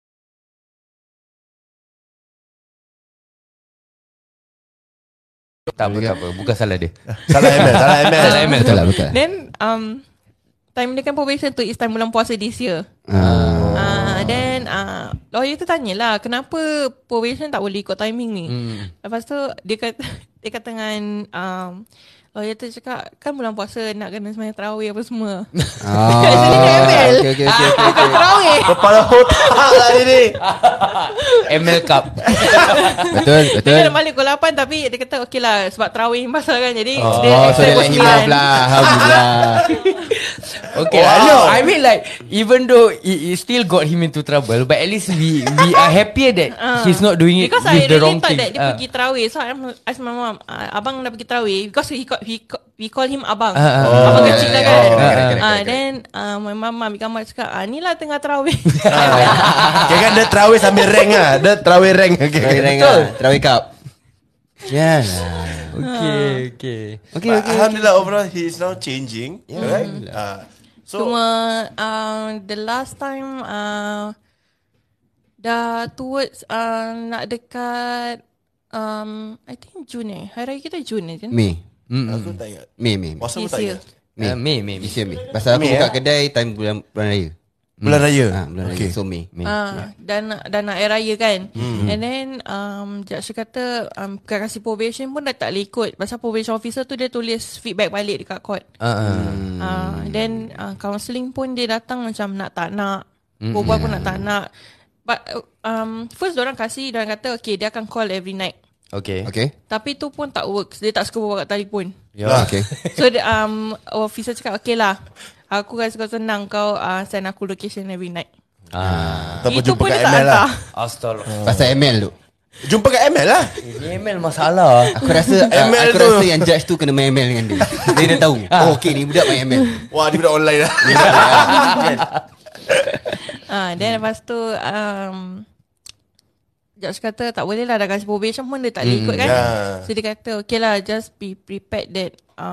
Tak apa. Bukan salah dia. Salah ML. Betul. Then time dia kan probation tu is time bulan puasa this year. Then lawyer tu tanyalah kenapa probation tak boleh ikut timing ni. Lepas tu dia kata dengan lawyer tu cakap kan bulan puasa nak kena sembahyang tarawih apa semua. Actually dia ML. Okay. Bukan tarawih. Kepala otak lah dia ni. ML Cup. Betul. Dia kena balik pukul 8 tapi dia kata okay lah sebab tarawih pasal kan, jadi dia So dia extend let him pukul off 9. lah. Alhamdulillah. Okay lah. No, I mean like even though it still got him into trouble, but at least we are happier that he's not doing it Because with I the really wrong thought thing. that dia pergi tarawih. So I asked my mom, abang dah pergi tarawih, because we call him abang. Abang kecil lah kan. correct. Then my mom ambil gambar cakap ni lah tengah tarawih. Kira kan dia terawih sambil rank lah. Dia terawih rank. Terawih cup. Yeah. Okay. But alhamdulillah overall he is now changing. Right? So Cuma the last time dah towards nak dekat I think June Hari Raya kita June je. Mei. aku tak ingat. Mei. Puasa pun This tak year. ingat. Mei. This year Mei. Pasal aku Mei, buka kedai time bulan raya. Bulan raya. Bulan raya. Okay. So Mei. Dan nak air raya kan. And then judge kata kasih probation pun dah tak boleh ikut. Pasal probation officer tu dia tulis feedback balik dekat court. Then counselling pun dia datang macam nak tak nak. Berbual pun nak tak nak. But first diorang kata okay dia akan call every night. Okay. Tapi tu pun tak works. Dia tak suka berbual kat telefon. Okay. So officer cakap okay lah, aku rasa kau senang kau send aku location every night. Ataupun Itu jumpa pun kat dia tak ML lah. hantar. Astagfirullah. Pasal ML tu. Jumpa kat ML lah. ML masalah. Aku rasa ML aku tu. rasa yang judge tu kena main ML dengan dia. Dia dah tahu. Oh okay ni budak main ML. Wah dia budak online lah. Then lepas tu judge kata tak boleh lah, dah kasih probation pun dia tak boleh ikut kan. So dia kata okay lah, just be prepared that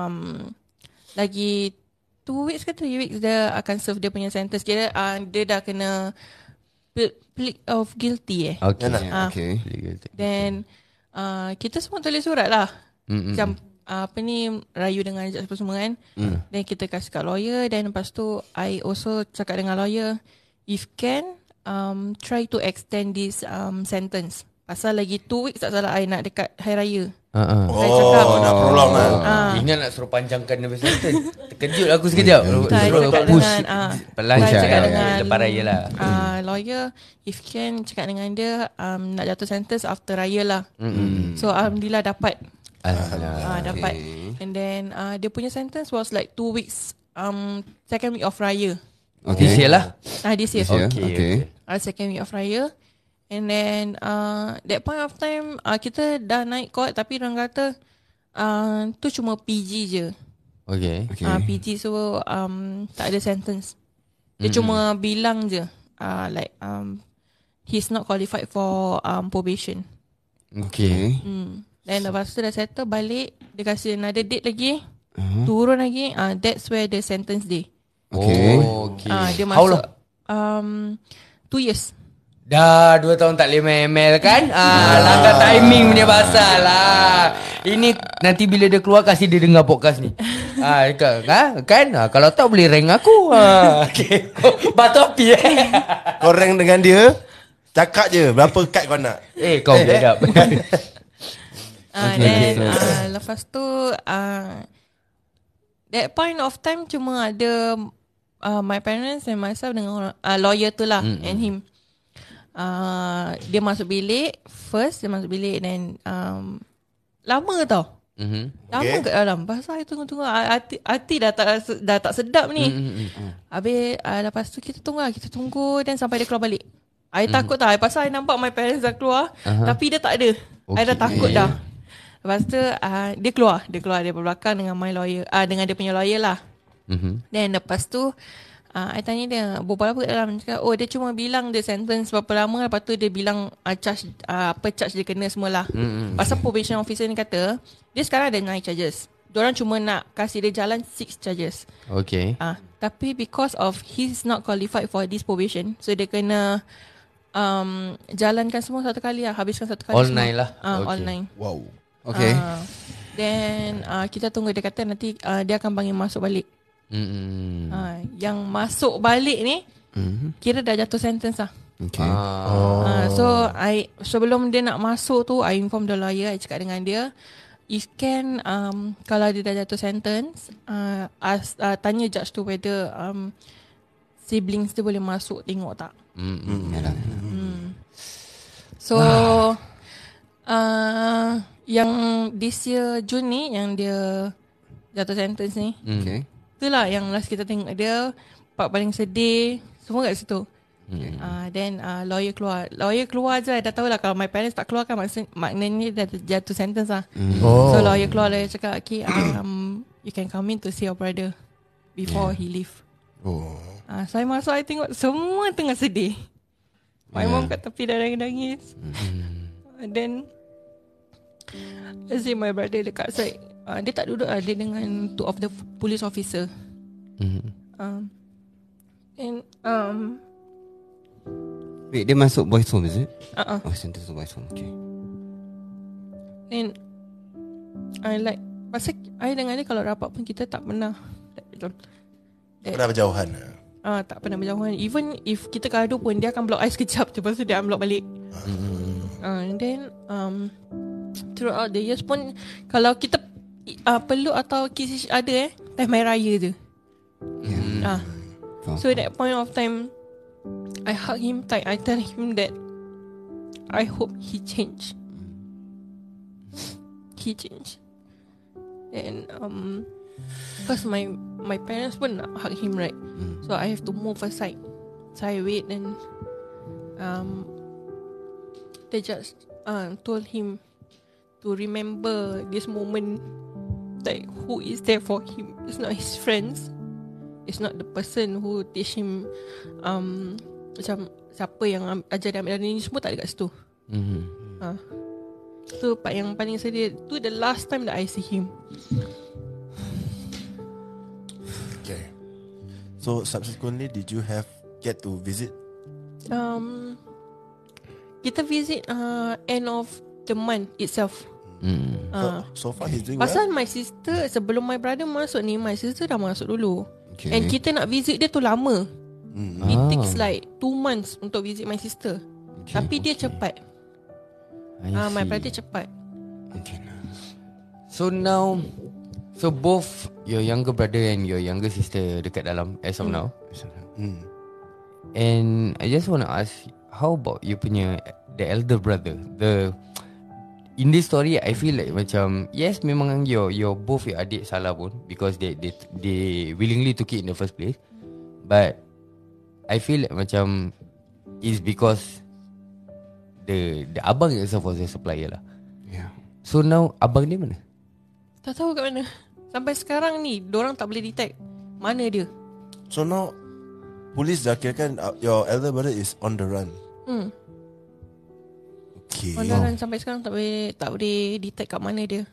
lagi 2 weeks ke 3 weeks dia akan serve dia punya sentence. Dia dah kena plead of guilty Okay. Okay. Then kita semua tulis surat lah. Macam rayu dengan judge semua kan. Then kita kasih kat lawyer. Then lepas tu I also cakap dengan lawyer, if can try to extend this sentence. Pasal lagi 2 weeks tak salah I nak dekat Hari Raya. Saya cakap nak prolong lah. Ini nak suruh panjangkan dia sentence. Terkejut aku sekejap. Suruh push Pelan cakap dengan lepas raya lah. Lawyer, if can cakap dengan dia nak jatuh sentence after raya lah. So alhamdulillah dapat. Dapat. And then dia punya sentence was like 2 weeks, second week of raya. This year lah. This year. Okay. Second week of raya. And then that point of time kita dah naik court, tapi orang kata tu cuma PG je. Okay. PG, so tak ada sentence. Dia cuma bilang je like he's not qualified for probation. Okay. Then lepas tu dah settle balik, dia kasih another date lagi, turun lagi. That's where the sentence day. Okay. Dia How masuk long? 2 years. Dah 2 tahun tak boleh ML kan. Langgar timing punya pasal lah. Ini nanti bila dia keluar, kasih dia dengar podcast ni. Kan kalau tak boleh rank aku. Okay. Batu api Kau rank dengan dia, cakap je berapa kad kau nak. kau biadab. Then lepas tu that point of time cuma ada my parents and myself dengan lawyer tu lah, and him. Dia masuk bilik first, then lama tau. Lama kat dalam. Pasal I tunggu hati dah tak sedap ni. Habis lepas tu kita tunggu dan sampai dia keluar balik. I takut tau. Pasal I nampak my parents dah keluar, tapi dia tak ada. I dah takut dah. Lepas tu dia keluar dari belakang dengan my lawyer, dengan dia punya lawyer lah. Then lepas tu I tanya dia, berbual apa kat dalam? Cakap, dia cuma bilang dia sentence berapa lama. Lepas tu dia bilang charge dia kena semualah. Pasal probation officer ni kata dia sekarang ada 9 charges. Diorang cuma nak kasih dia jalan 6 charges. Okay. Tapi because of he's not qualified for this probation, so dia kena jalankan semua satu kali lah. Habiskan satu kali all semua. 9 lah. All 9. Wow. Okay. Then kita tunggu, dia kata nanti dia akan panggil masuk balik. Yang masuk balik ni kira dah jatuh sentence lah. Okay. So sebelum dia nak masuk tu, I inform the lawyer. I cakap dengan dia, if can kalau dia dah jatuh sentence, tanya judge tu whether siblings dia boleh masuk tengok tak. So yang this year June ni, yang dia jatuh sentence ni, Okay. itulah yang last kita tengok dia. Part paling sedih semua kat situ. Then lawyer keluar je. Dah tahu lah kalau my parents tak keluar kan, maknanya dah jatuh sentence lah. So lawyer keluar, lawyer cakap, okay, you can come in to see your brother before he leave. Saya masuk, I tengok semua tengah sedih. My mom kat tepi dah nangis. Then I see my brother dekat side. Dia tak duduk dia dengan 2 of the police officer. And Wait, dia masuk boys home, is it? Sentence to boys home. Okay. And I like, pasal I dengan dia kalau rapat pun kita tak pernah Pernah berjauhan. tak pernah berjauhan. Even if kita gaduh pun, dia akan block I sekejap je, lepas tu dia unblock balik. And then throughout the years pun, kalau kita peluk atau kiss each other time Hari Raya je. So that point of time, I hug him tight. I tell him that I hope he change. He change. And because my parents pun nak hug him, right? So I have to move aside. So I wait, and they just told him to remember this moment, like who is there for him. It's not his friends, it's not the person who teach him macam siapa yang ajar dia ambil dari ni, semua tak ada kat situ. So part yang paling sedih tu, the last time that I see him. Okay. So subsequently, did you get to visit? Kita visit end of the month itself. So far he's doing well. Pasal my sister, sebelum my brother masuk ni, my sister dah masuk dulu. Okay. And kita nak visit dia tu lama. It takes like 2 months untuk visit my sister. Tapi dia cepat. My brother cepat. So now, so both your younger brother and your younger sister dekat dalam as of now. And I just want to ask, how about you punya the elder brother? In this story, I feel like macam yes, memang your both your adik salah pun because they willingly took it in the first place. But I feel like macam it's because the abang itself was a supplier lah. Yeah. So now abang dia mana? Tak tahu kat mana. Sampai sekarang ni dorang tak boleh detect mana dia. So now police dah kirakan your elder brother is on the run. Okay. Orang sampai sekarang tak boleh detect kat mana dia.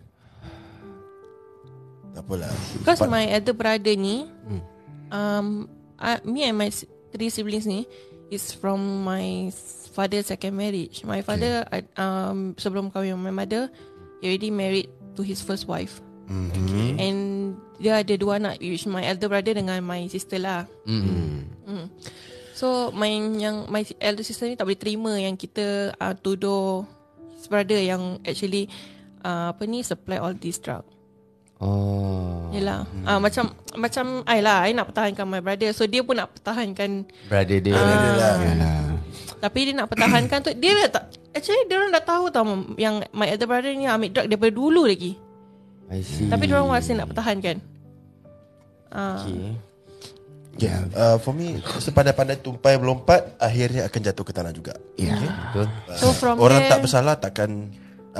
Tak apalah. Because my elder brother ni me and my 3 siblings ni is from my father's second marriage. My father sebelum kahwin my mother, he already married to his first wife. And dia ada 2 anak, which my elder brother dengan my sister lah. So my elder sister ni tak boleh terima yang kita tuduh his brother yang actually supply all this drug. Yelah. Macam I nak pertahankan my brother, so dia pun nak pertahankan Brother dia. Tapi dia nak pertahankan tu, dia tak, actually dia orang dah tahu tau yang my elder brother ni ambil drug daripada dulu lagi. I see. Tapi dia orang masih nak pertahankan. Okay. Yeah. For me, sepandai-pandai tumpai melompat, akhirnya akan jatuh ke tanah juga. Betul. So from orang there, tak bersalah takkan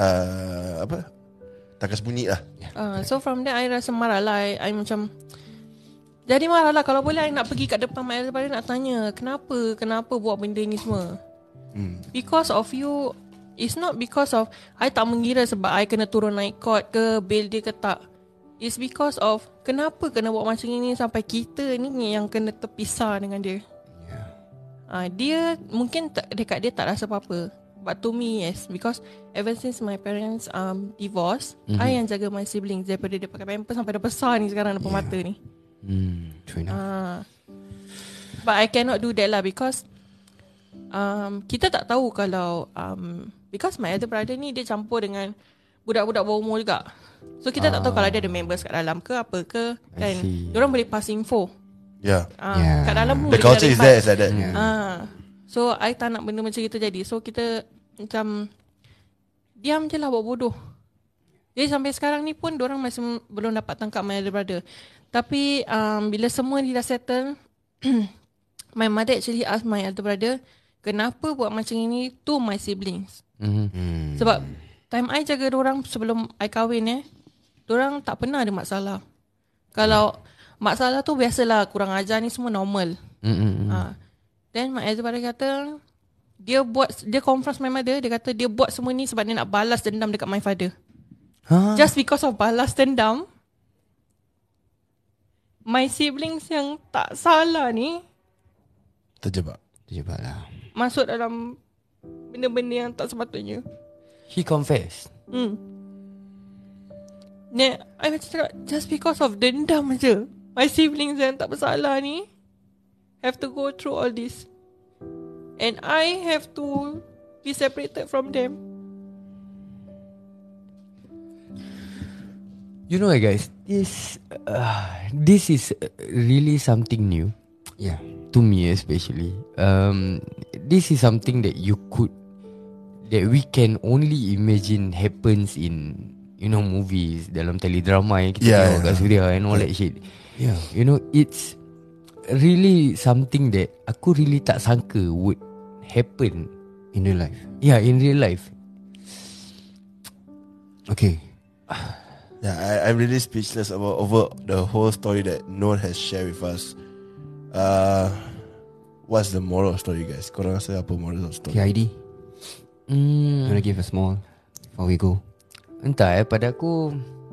takkan sembunyi lah. so from there I rasa marah lah. I macam jadi marah lah. Kalau boleh I nak pergi kat depan my elder brother, nak tanya Kenapa buat benda ni semua. Because of you. It's not because of I tak mengira sebab I kena turun naik court ke, bail dia ke tak. It's because of kenapa kena buat macam ini sampai kita ni yang kena terpisah dengan dia. Dia mungkin dekat dia tak rasa apa-apa, but to me yes, because ever since my parents divorce, I yang jaga my siblings daripada dia pakai pampers sampai dah besar ni sekarang depan mata ni. True enough. But I cannot do that lah because kita tak tahu kalau because my elder brother ni dia campur dengan budak-budak bawah umur juga. So kita tak tahu kalau dia ada members kat dalam ke apa ke kan. Diorang boleh pass info. Yeah. Kat dalam pun The culture is there, is like that. So I tak nak benda macam itu jadi. So kita macam diam je lah, buat bodoh. Jadi sampai sekarang ni pun diorang masih belum dapat tangkap my elder brother. Tapi bila semua ni dah settle, my mother actually ask my elder brother, kenapa buat macam ini to my siblings. Sebab time I jaga diorang sebelum I kahwin diorang tak pernah ada masalah. Kalau masalah tu biasalah, kurang ajar ni semua normal. Then my elder brother kata dia confront my mother. Dia kata dia buat semua ni sebab dia nak balas dendam dekat my father. Just because of balas dendam, my siblings yang tak salah ni Terjebak lah. masuk dalam benda-benda yang tak sepatutnya. He confessed. I macam cakap, just because of dendam je, my siblings yang tak bersalah ni have to go through all this, and I have to be separated from them. You know what, guys, this is really something new. Yeah. To me especially. This is something that we can only imagine happens in, movies, dalam teledrama yang kita tengok kat Suria and all that shit. Yeah. It's really something that aku really tak sangka would happen In real life. Yeah, in real life. Okay. Yeah, I'm really speechless over the whole story that Noor has shared with us. What's the moral of story, guys? Korang rasa apa moral of story? KID, you wanna give a small before we go? Entah pada aku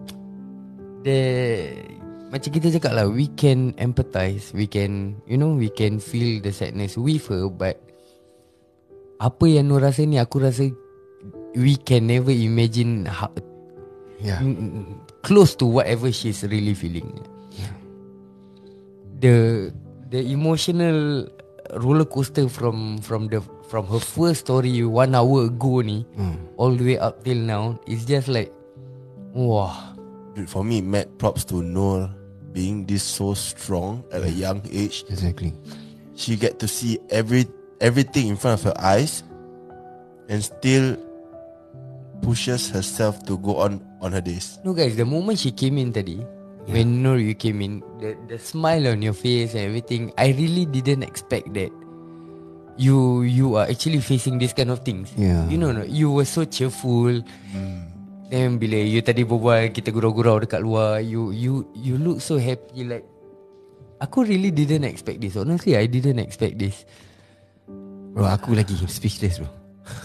macam kita cakap lah, we can empathize, we can we can feel the sadness with her, but apa yang Nur rasa ni, aku rasa we can never imagine Yeah. close to whatever she's really feeling. The emotional roller coaster from her first story 1 hour ago ni all the way up till now is just like wah. Dude, for me, mad props to Noor being this so strong at a young age. Exactly. She get to see everything in front of her eyes and still pushes herself to go on her days. No guys, the moment she came in tadi, when Noor you came in, the smile on your face and everything, I really didn't expect that you are actually facing this kind of things. Yeah. You know, you were so cheerful. Then bila you tadi berbual, kita gurau-gurau dekat luar, you look so happy. Like, aku really didn't expect this. Honestly, I didn't expect this. Bro, aku lagi speechless bro.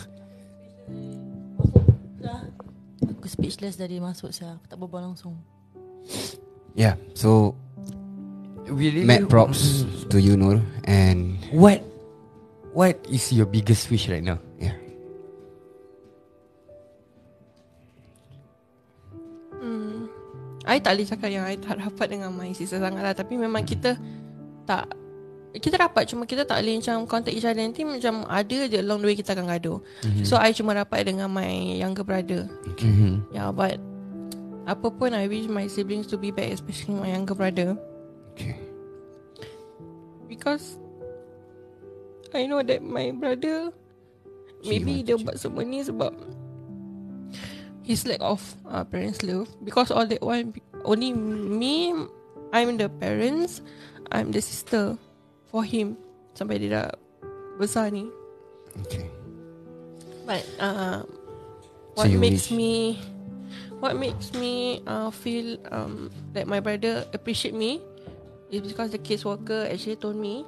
Aku speechless dari masuk saya. Aku tak berbual langsung. Yeah. So We really mad props to you, Noor. And What is your biggest wish right now? yeah. I tak boleh cakap yang I tak rapat dengan my sister sangat lah. Tapi memang kita rapat, cuma kita tak boleh macam contact each other. Nanti macam ada je along the way kita akan gaduh. So I cuma rapat dengan my younger brother. Yeah, but apa pun I wish my siblings to be back, especially my younger brother. Okay. Because I know that my brother maybe dia buat semua ni sebab his lack of parents love. Because all that while only me, I'm the parents, I'm the sister for him sampai dia dah besar ni. Okay. But So you what makes me feel that my brother appreciate me is because the caseworker actually told me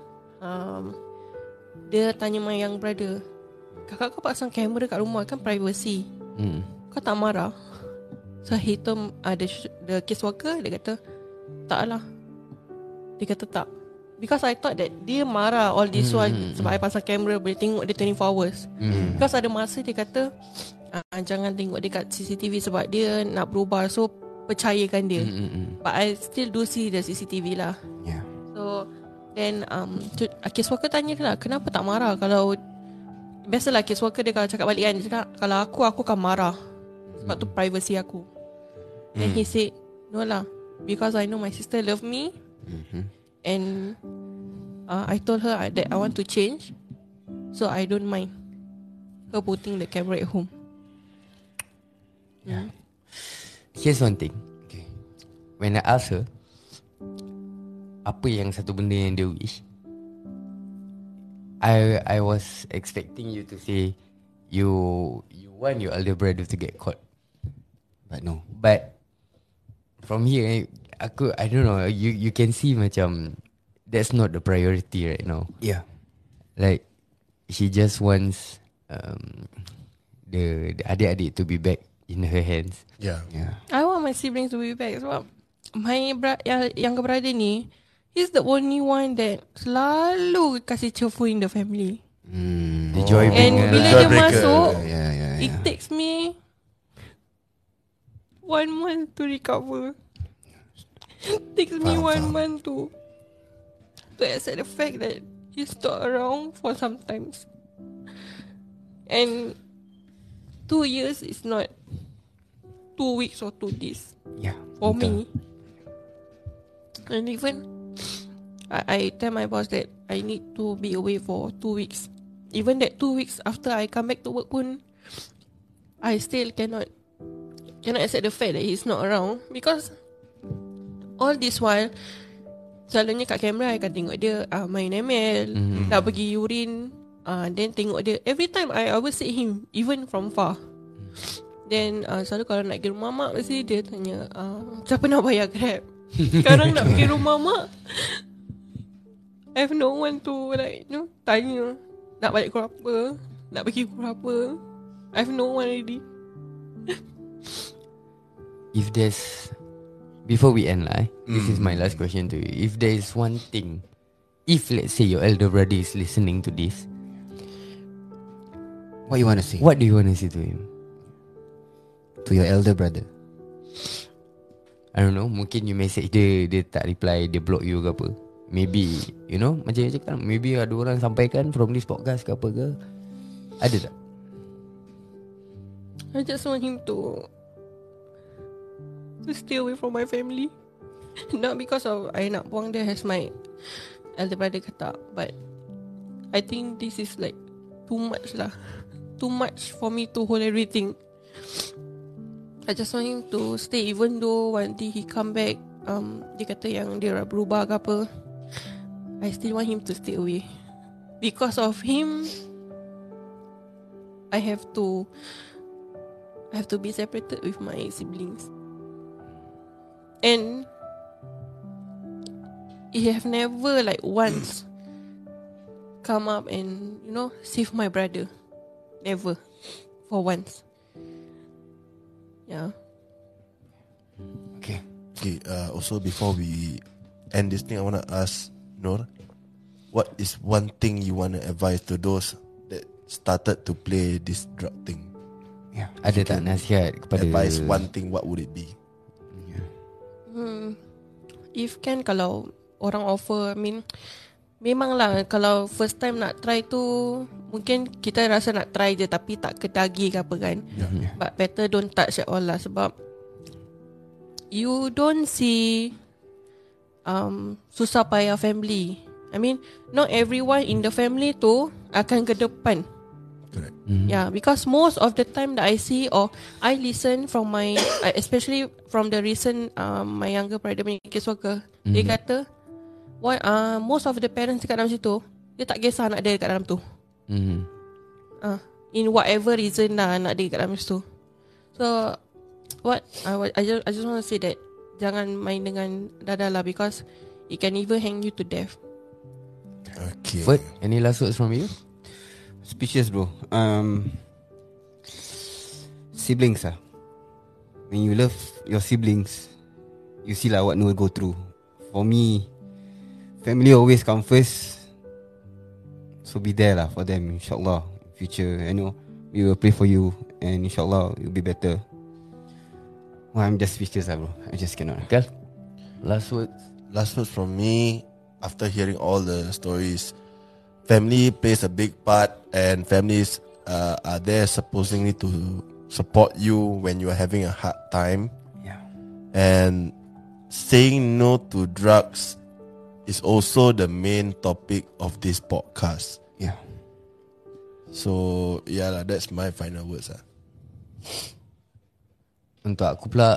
dia tanya my young brother, kakak kau pasang kamera kat rumah kan privacy, kau tak marah? So he told the caseworker, dia kata tak lah. Dia kata tak, because I thought that dia marah all this while sebab I pasang kamera boleh tengok dia 24 hours. Because ada masa dia kata jangan tengok dekat CCTV sebab dia nak berubah, so percayakan dia. But I still do see the CCTV lah. Yeah. So then caseworker tanya dia lah, kenapa tak marah? Kalau biasalah caseworker dia kalau cakap balik kan, dia cakap kalau aku akan marah sebab tu privacy aku. Then he said no lah, because I know my sister love me. And I told her that I want to change, so I don't mind her putting the camera at home. Here's one thing. Okay. When I ask her apa yang satu benda yang dia wish, I was expecting you to say you want your elder brother to get caught. But no. But from here, I don't know, you can see macam that's not the priority right now. Yeah. Like she just wants the adik-adik to be back in her hands. Yeah. Yeah. I want my siblings to be back sebab my younger brother ni, he's the only one that selalu kasih cheerful in the family. The joy And bringer bila lah. dia Joy breaker. masuk, Yeah. it takes me 1 month to recover. It takes me 1 month to accept the fact that he's not around for sometimes. And 2 years is not 2 weeks or 2 days Yeah. for me. And even I tell my boss that I need to be away for 2 weeks. Even that 2 weeks after I come back to work pun, I still cannot accept the fact that he's not around. Because all this while, selalunya kat kamera I akan tengok dia main ML, nak pergi urine, then tengok dia. Every time I always see him, even from far. Then selalu kalau nak pergi rumah mak, mesti dia tanya siapa nak bayar Grab. Sekarang nak pergi rumah mak, I have no one to tanya nak balik pukul apa, nak pergi pukul apa. I have no one already. If there's, before we end lah, this is my last question to you. If there is one thing, if let's say your elder brother is listening to this, What you want to say what do you want to say to him? to your elder brother? I don't know, mungkin you message dia, dia tak reply, dia block you ke apa. Maybe, you know, macam you cakap, maybe ada orang sampaikan from this podcast ke apa ke. Ada tak? I just want him to stay away from my family. Not because of I nak buang dia as my elder brother kata, but I think this is like too much lah. Too much for me to hold everything. I just want him to stay, even though one day he come back, dia kata yang dia berubah ke apa, I still want him to stay away. Because of him, I have to be separated with my siblings. And he have never like once come up and, you know, save my brother. Never. For once. Yeah. Okay. Okay, also before we end this thing, I want to ask Nur, what is one thing you want to advise to those that started to play this drug thing? Yeah. Ada tak nasihat kepada Advise one thing, what would it be? If can, kalau orang offer, I mean, memanglah kalau first time nak try tu, mungkin kita rasa nak try je tapi tak kedagi ke apa kan. But better don't touch at all lah, sebab you don't see susah payah family. I mean, not everyone in the family tu akan ke depan. Correct. Yeah, because most of the time that I see or I listen from my especially from the recent my younger brother punya caseworker, dia kata most of the parents dekat dalam situ, dia tak kisah anak dia dekat dalam tu. In whatever reason lah anak dia dekat dalam situ. So what I just want to say that jangan main dengan dadah lah, because it can even hang you to death. Okay. Ferd, any last words from you? Speechless, bro. Siblings ah. When you love your siblings, you see lah what Noor go through. For me, family always come first. So be there lah for them, inshallah. Future, I know we will pray for you, and inshallah you'll be better. Well, I'm just speechless lah, bro. I just cannot. Kal, last words. Last words from me, after hearing all the stories, family plays a big part, and families are there supposedly to support you when you are having a hard time. Yeah. And saying no to drugs is also the main topic of this podcast. Yeah. So yeah lah, that's my final words lah. Untuk aku pula,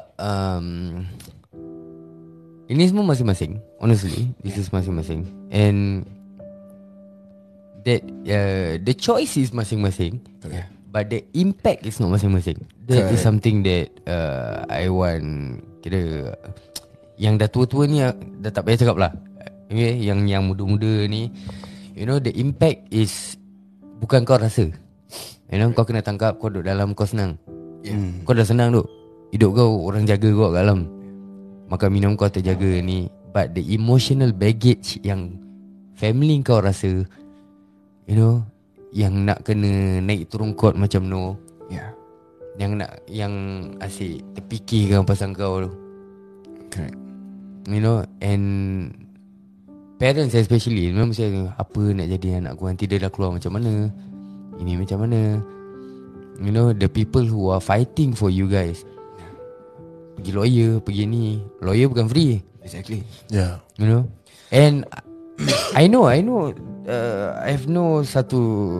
ini semua masing-masing. Honestly, this is masing-masing. And that the choice is masing-masing, but the impact is not masing-masing. That is something that I want. Kira yang dah tua-tua ni dah tak payah cakap lah. Okay, yang muda-muda ni, you know, the impact is bukan kau rasa. You know, kau kena tangkap, kau duduk dalam, kau senang. Kau dah senang duk. Hidup kau orang jaga kau kat dalam. Makan minum kau terjaga ni. But the emotional baggage yang family kau rasa, you know, yang nak kena naik turun court macam no, Yeah. yang asyik terfikirkan pasal kau tu. Correct. You know, and parents especially, you know, mesti apa nak jadi anak aku, nanti dia dah keluar macam mana, ini macam mana. You know, the people who are fighting for you guys, pergi lawyer, pergi ni. Lawyer bukan free. Exactly. Yeah. You know. And I know I have no satu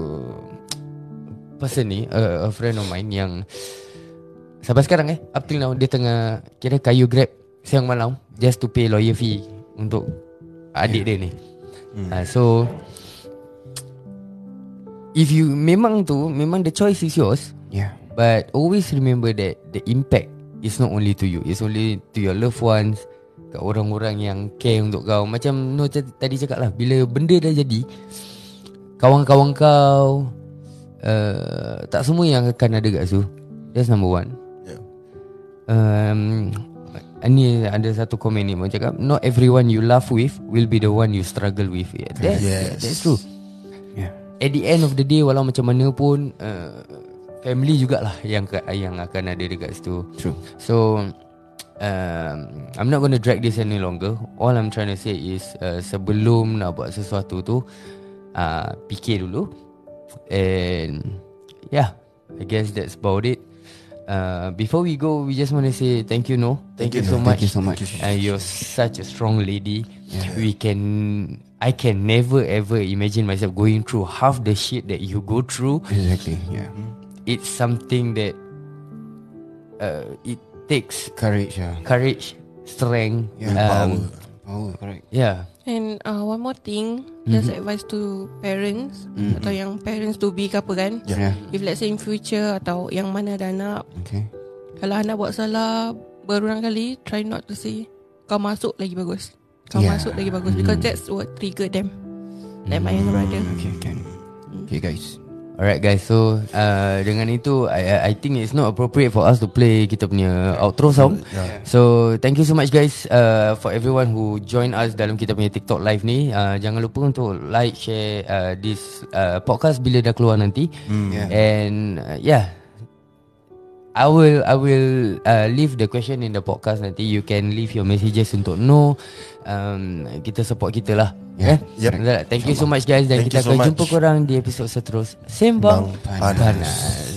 person ni, a friend of mine yang sampai sekarang up till now dia tengah kira kayu grab siang malam just to pay lawyer fee untuk adik dia ni. So if you memang the choice is yours. Yeah. But always remember that the impact is not only to you, it's only to your loved ones, kat orang-orang yang care untuk kau. Macam Noh tadi cakap lah, bila benda dah jadi, kawan-kawan kau tak semua yang akan ada kat situ. That's number one. Ni ada satu komen ni macam cakap, not everyone you laugh with will be the one you struggle with. That's true. Yeah. At the end of the day, walau macam mana pun, family jugalah yang akan ada dekat situ. True. So I'm not going to drag this any longer. All I'm trying to say is sebelum nak buat sesuatu tu, fikir dulu. And yeah, I guess that's about it. Before we go, we just want to say thank you, No. Thank you so much. Thank you so much. You're such a strong lady. I can never ever imagine myself going through half the shit that you go through. Exactly. Yeah. It's something that it takes Courage. Yeah. courage, strength, Yeah. Power. Correct. yeah. And one more thing, just advice to parents atau yang parents to be ke apa kan. Yeah. If let's say in future atau yang mana ada anak, Okay. kalau anak buat salah berulang kali, try not to say kau masuk lagi bagus. Kau Yeah. masuk lagi bagus because that's what trigger them. Like my younger brother. Okay. Can. Okay, guys. Alright guys, so dengan itu I think it's not appropriate for us to play kita punya outro song. So thank you so much guys for everyone who join us dalam kita punya TikTok live ni. Jangan lupa untuk like, share this podcast bila dah keluar nanti. Yeah. And yeah, I will leave the question in the podcast nanti. You can leave your messages untuk No. Kita support kita lah. Yeah. Yep. Thank you so much guys. Dan Thank kita you so akan much. jumpa korang di episod seterusnya. Sembang Panas. Panas.